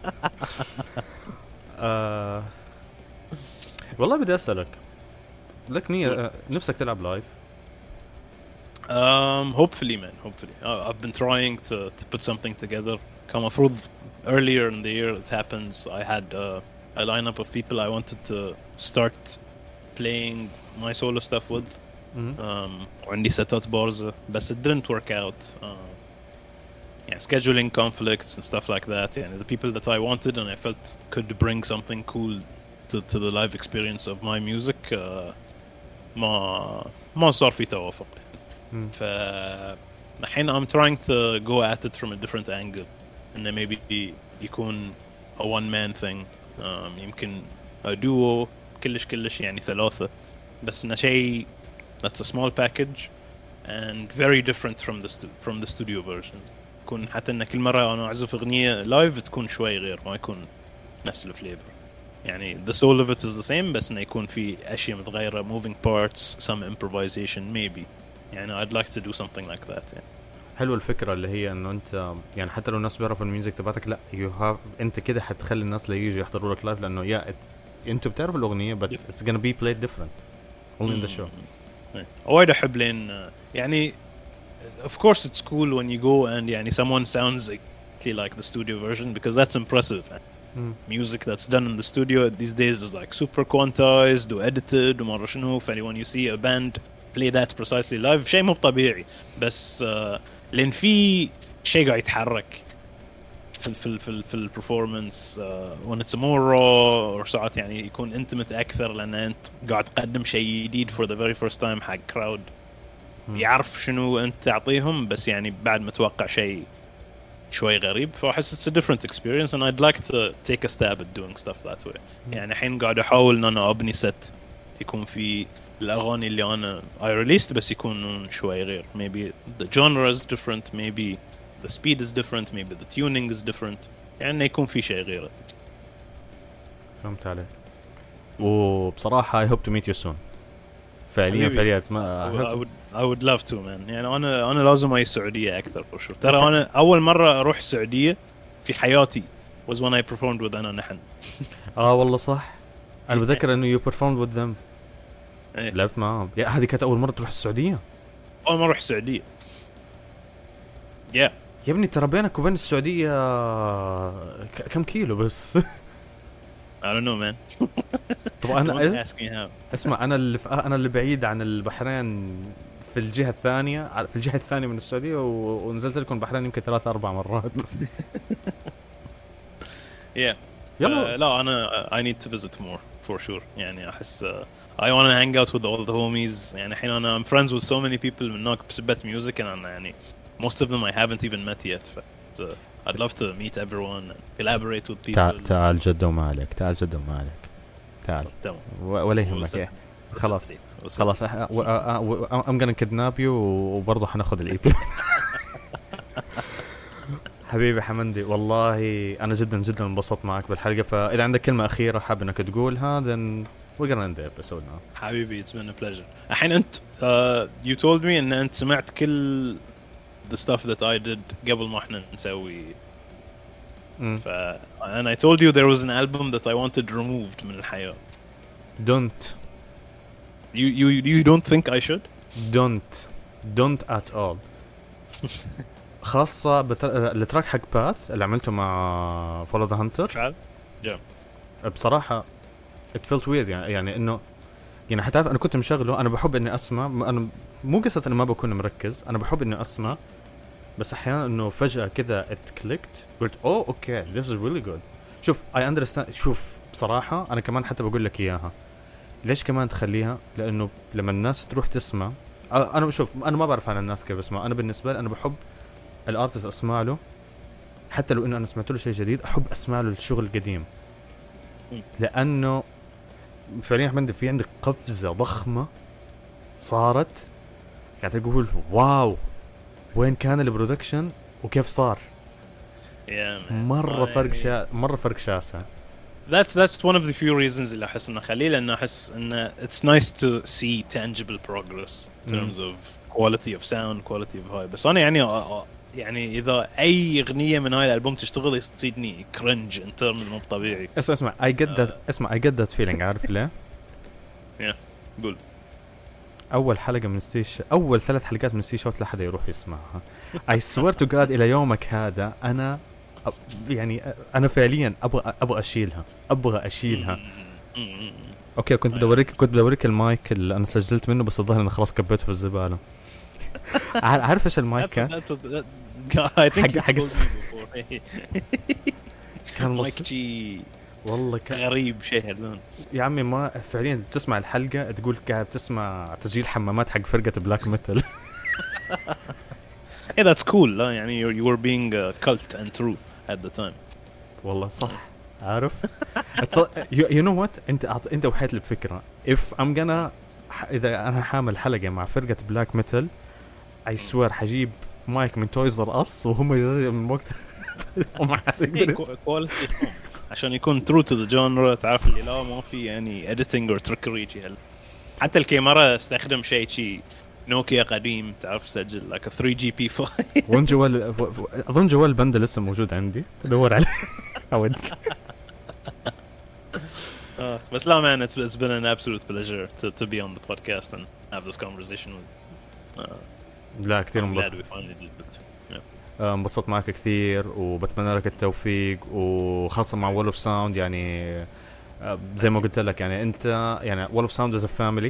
والله بدي أسألك لك نية نفسك تلعب لايف؟ Hopefully man, hopefully. I've been trying to put something together. كان مفروض earlier in the year it happens. I had a lineup of people I wanted to start playing my solo stuff with. وعندي ستات بارزة بس it didn't work out. Yeah, scheduling conflicts and stuff like that. Yeah, the people that I wanted and I felt could bring something cool to the live experience of my music ما صار في توافق. فالحين I'm trying to go at it from a different angle and then maybe يكون a one man thing. يمكن a duo كلش يعني ثلاثة بس إنه شيء that's a small package and very different from the studio versions. يكون حتى إن كل مرة أنا أعزف أغنية لايف تكون شوي غير ما يكون نفس الفليفر. يعني the soul of it is the same بس إنه يكون في أشياء متغيرة moving parts some improvisation maybe. يعني I'd like to do something like that. يعني. حلو الفكرة اللي هي إنه أنت يعني حتى لو الناس بيعرفوا الميوزك تبعتك لا أنت كده حتخلي الناس اللي يجوا يحضروا لك لايف لأنه أنتوا بتعرفوا الأغنية but it's gonna be played different only in the show. وايد أحب لين يعني of course it's cool when you go and يعني someone sounds exactly like the studio version because that's impressive. Music that's done in the studio these days is like super quantized or edited ومرة شنو. when you see a band play that precisely live شيء مو طبيعي بس لأن في شيء قاعد يتحرك في البرفورمانس when it's more raw or ساعات يعني يكون intimate أكثر لأن أنت قاعد تقدم شيء جديد for the very first time حق crowd يعرف شنو أنت تعطيهم بس يعني بعد متوقع شيء شوي غريب فأحس it's a different experience and I'd like to take a stab at doing stuff that way يعني الحين قاعد أحاول إن أنا أبني set يكون في الأغاني اللي أنا I released بس يكونون شوي غير maybe the genre is different maybe the speed is different maybe the tuning is different يعني يكون في شيء غير فهمت عليك وبصراحة I hope to meet you soon فعليا ما I would love to man يعني أنا لازم أي السعودية أكثر for sure ترى أنا أول مرة أروح السعودية في حياتي was when I performed with أنا نحن والله صح أنا بذكر إنه you performed with them إيه. لعبت معهم يا هذه كانت أول مرة تروح السعودية أول مرة أروح السعودية يا ابني ترى بينك وبين السعودية كم كيلو بس I don't know man طبعا أنا اسمع أنا اللي بعيد عن البحرين في الجهة الثانية من السعودية ونزلت لكم البحرين يمكن 3-4 مرات يلا لا أنا I need to visit more for sure يعني أحس I want to hang out with all the homies يعني الحين أنا I'm friends with so many people من هناك بسبة music أنا يعني most of them I haven't even met yet so I'd love to meet everyone and collaborate with people تعال جدو مالك تعال ولا يهمك خلاص I'm gonna kidnap you وبرضه حناخذ الإي بي حبيبي حمندي والله أنا جدا انبسطت معك بالحلقة فإذا عندك كلمة أخيرة حاب إنك تقولها then we're gonna end the episode now حبيبي it's been a pleasure الحين أنت you told me إن أنت سمعت كل the stuff that I did قبل ما إحنا نسوي and I told you there was an album that I wanted removed من الحياة don't you don't think I should don't at all خاصة التراك حق باث اللي عملته مع Follow the Hunter بصراحة it felt weird يعني انه يعني حتى انا كنت مشغله انا بحب اني اسمع انا مو قصة اني ما بكون مركز انا بحب اني اسمع بس احيانا انه فجأة كده it clicked قلت اوكي this is really good شوف I understand شوف بصراحة انا كمان حتى بقول لك اياها ليش كمان تخليها لانه لما الناس تروح تسمع انا شوف انا ما بعرف عن الناس كيف بسمع انا بالنسبة لي انا بحب الارتست اسمع له حتى لو انه انا سمعت له شيء جديد احب اسمع له الشغل القديم لانه فعليا احمد في عندك قفزة ضخمة صارت قاعد اقول واو وين كان البرودكشن وكيف صار مرة فرق شاسع That's one of the few reasons اللي أحس إنه خليه لأنه أحس إنه it's nice to see tangible progress in terms of quality of sound quality of vibe بس أنا يعني إذا أي أغنية من هاي الألبوم تشتغل يصيدني cringe in terms مو طبيعي اسمع I get that feeling عارف ليه؟ قول أول حلقة من أول 3 حلقات من ستي شوت لا حدا يروح يسمعها I swear to God إلى يومك هذا أنا يعني أنا فعليا أبغى أشيلها أوكي كنت بدوريك المايك اللي أنا سجلت منه بس الظاهر أنا خلاص كبيته في الزبالة عارف إيش المايك كان مايك جي والله غريب شيء هذون يا عمي ما فعليا بتسمع الحلقة تقول قاعد تسمع تسجيل حمامات حق فرقة بلاك ميتال Hey that's cool لا يعني you were being cult and true at the time والله صح عارف you know what انت وحيت لي بفكرة if I'm gonna اذا انا حامل حلقة مع فرقة بلاك ميتال I swear حجيب مايك من تويز ار اس وهم يزيد من وقت وما كواليتي عشان يكون true to the genre تعرف اللي لا ما في يعني editing or trickery حتى الكاميرا استخدم شيء نوكيا قديم تعرف سجل like a 3GP5 وين جوال اظن جوال بند لسه موجود عندي تدور عليه اود بس لا man it's been an absolute pleasure to be on the podcast and have this conversation with لا كثير انبسطت معك كثير وبتمنى لك التوفيق وخاصة مع Wall of Sound يعني زي ما قلت لك يعني انت يعني Wall of Sound is a family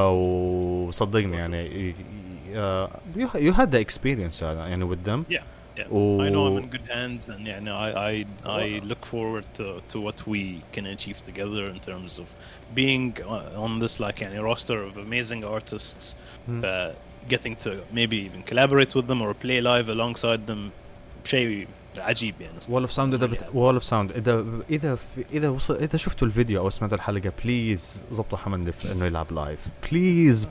وصدقني يعني you had the experience يعني with them I know I'm in good hands, and I look forward to what we can achieve together in terms of being on this like roster of amazing artists, getting to maybe even collaborate with them or play live alongside them. شيء عجيب يعني. Wall of Sound Wall of Sound إذا شفتوا الفيديو أو سمعتوا الحلقة بليز ضبطوا حمد إنه يلعب لايف بليز.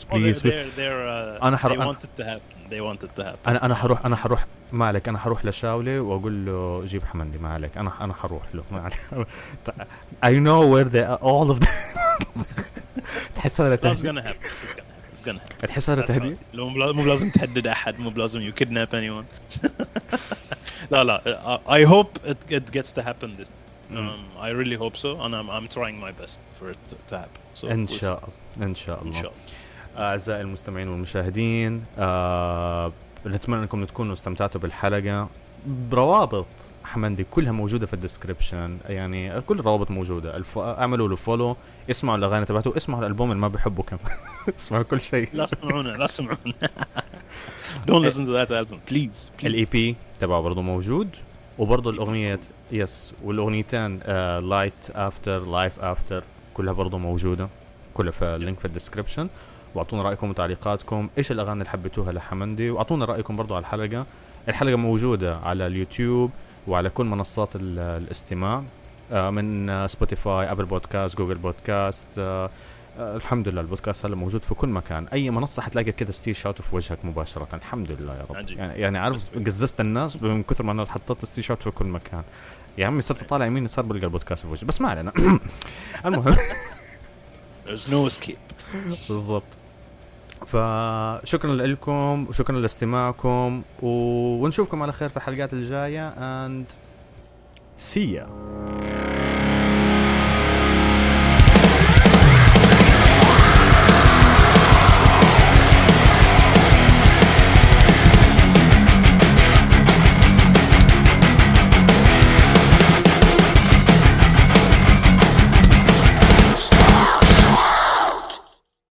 They wanted to happen. أنا حروح ما عليك. أنا حروح لشاولي وأقول له جيب حمدي ما عليك. أنا حروح له ما عليك. I know where they are all of them. تحس هذا تهديد. تحس هذا تهديد. مو لازم تهدد أحد. مو لازم you kidnap anyone. لا I hope it gets to happen this. I really hope so, and I'm trying my best for it to happen. So إن شاء الله. أعزائي المستمعين والمشاهدين، نتمنى أنكم تكونوا استمتعتوا بالحلقة. روابط حمندي كلها موجودة في الديسكريبشن، يعني كل الروابط موجودة. اعملوا له فولو، اسمعوا الأغاني تبعته، اسمعوا الألبوم اللي ما بحبه كم. اسمعوا كل شيء. لا سمعونا Don't listen to that album please. الEP تبعه برضو موجود، وبرضو الأغنية والأغنيتين Light After Life After كلها برضو موجودة، كلها في اللينك في الديسكريبشن. واعطونا رأيكم وتعليقاتكم، ايش الأغاني اللي حبيتوها لحمندي، واعطونا رأيكم برضو على الحلقة موجودة على اليوتيوب وعلى كل منصات الاستماع، من سبوتيفاي، أبل بودكاست، جوجل بودكاست. الحمد لله البودكاست هلا موجود في كل مكان. أي منصة حتلاقي كده ستيل شاوت في وجهك مباشرة. الحمد لله يا رب. يعني عارف قززت الناس من كثر ما أنا حطيت ستيل شاوت في كل مكان. يا عمي صرت طالع يمين صار بلقى البودكاست في وجهي، بس ما علينا. المهم there's no escape. بالضبط. فشكرا لكم وشكرا لاستماعكم، ونشوفكم على خير في الحلقات الجاية and see ya.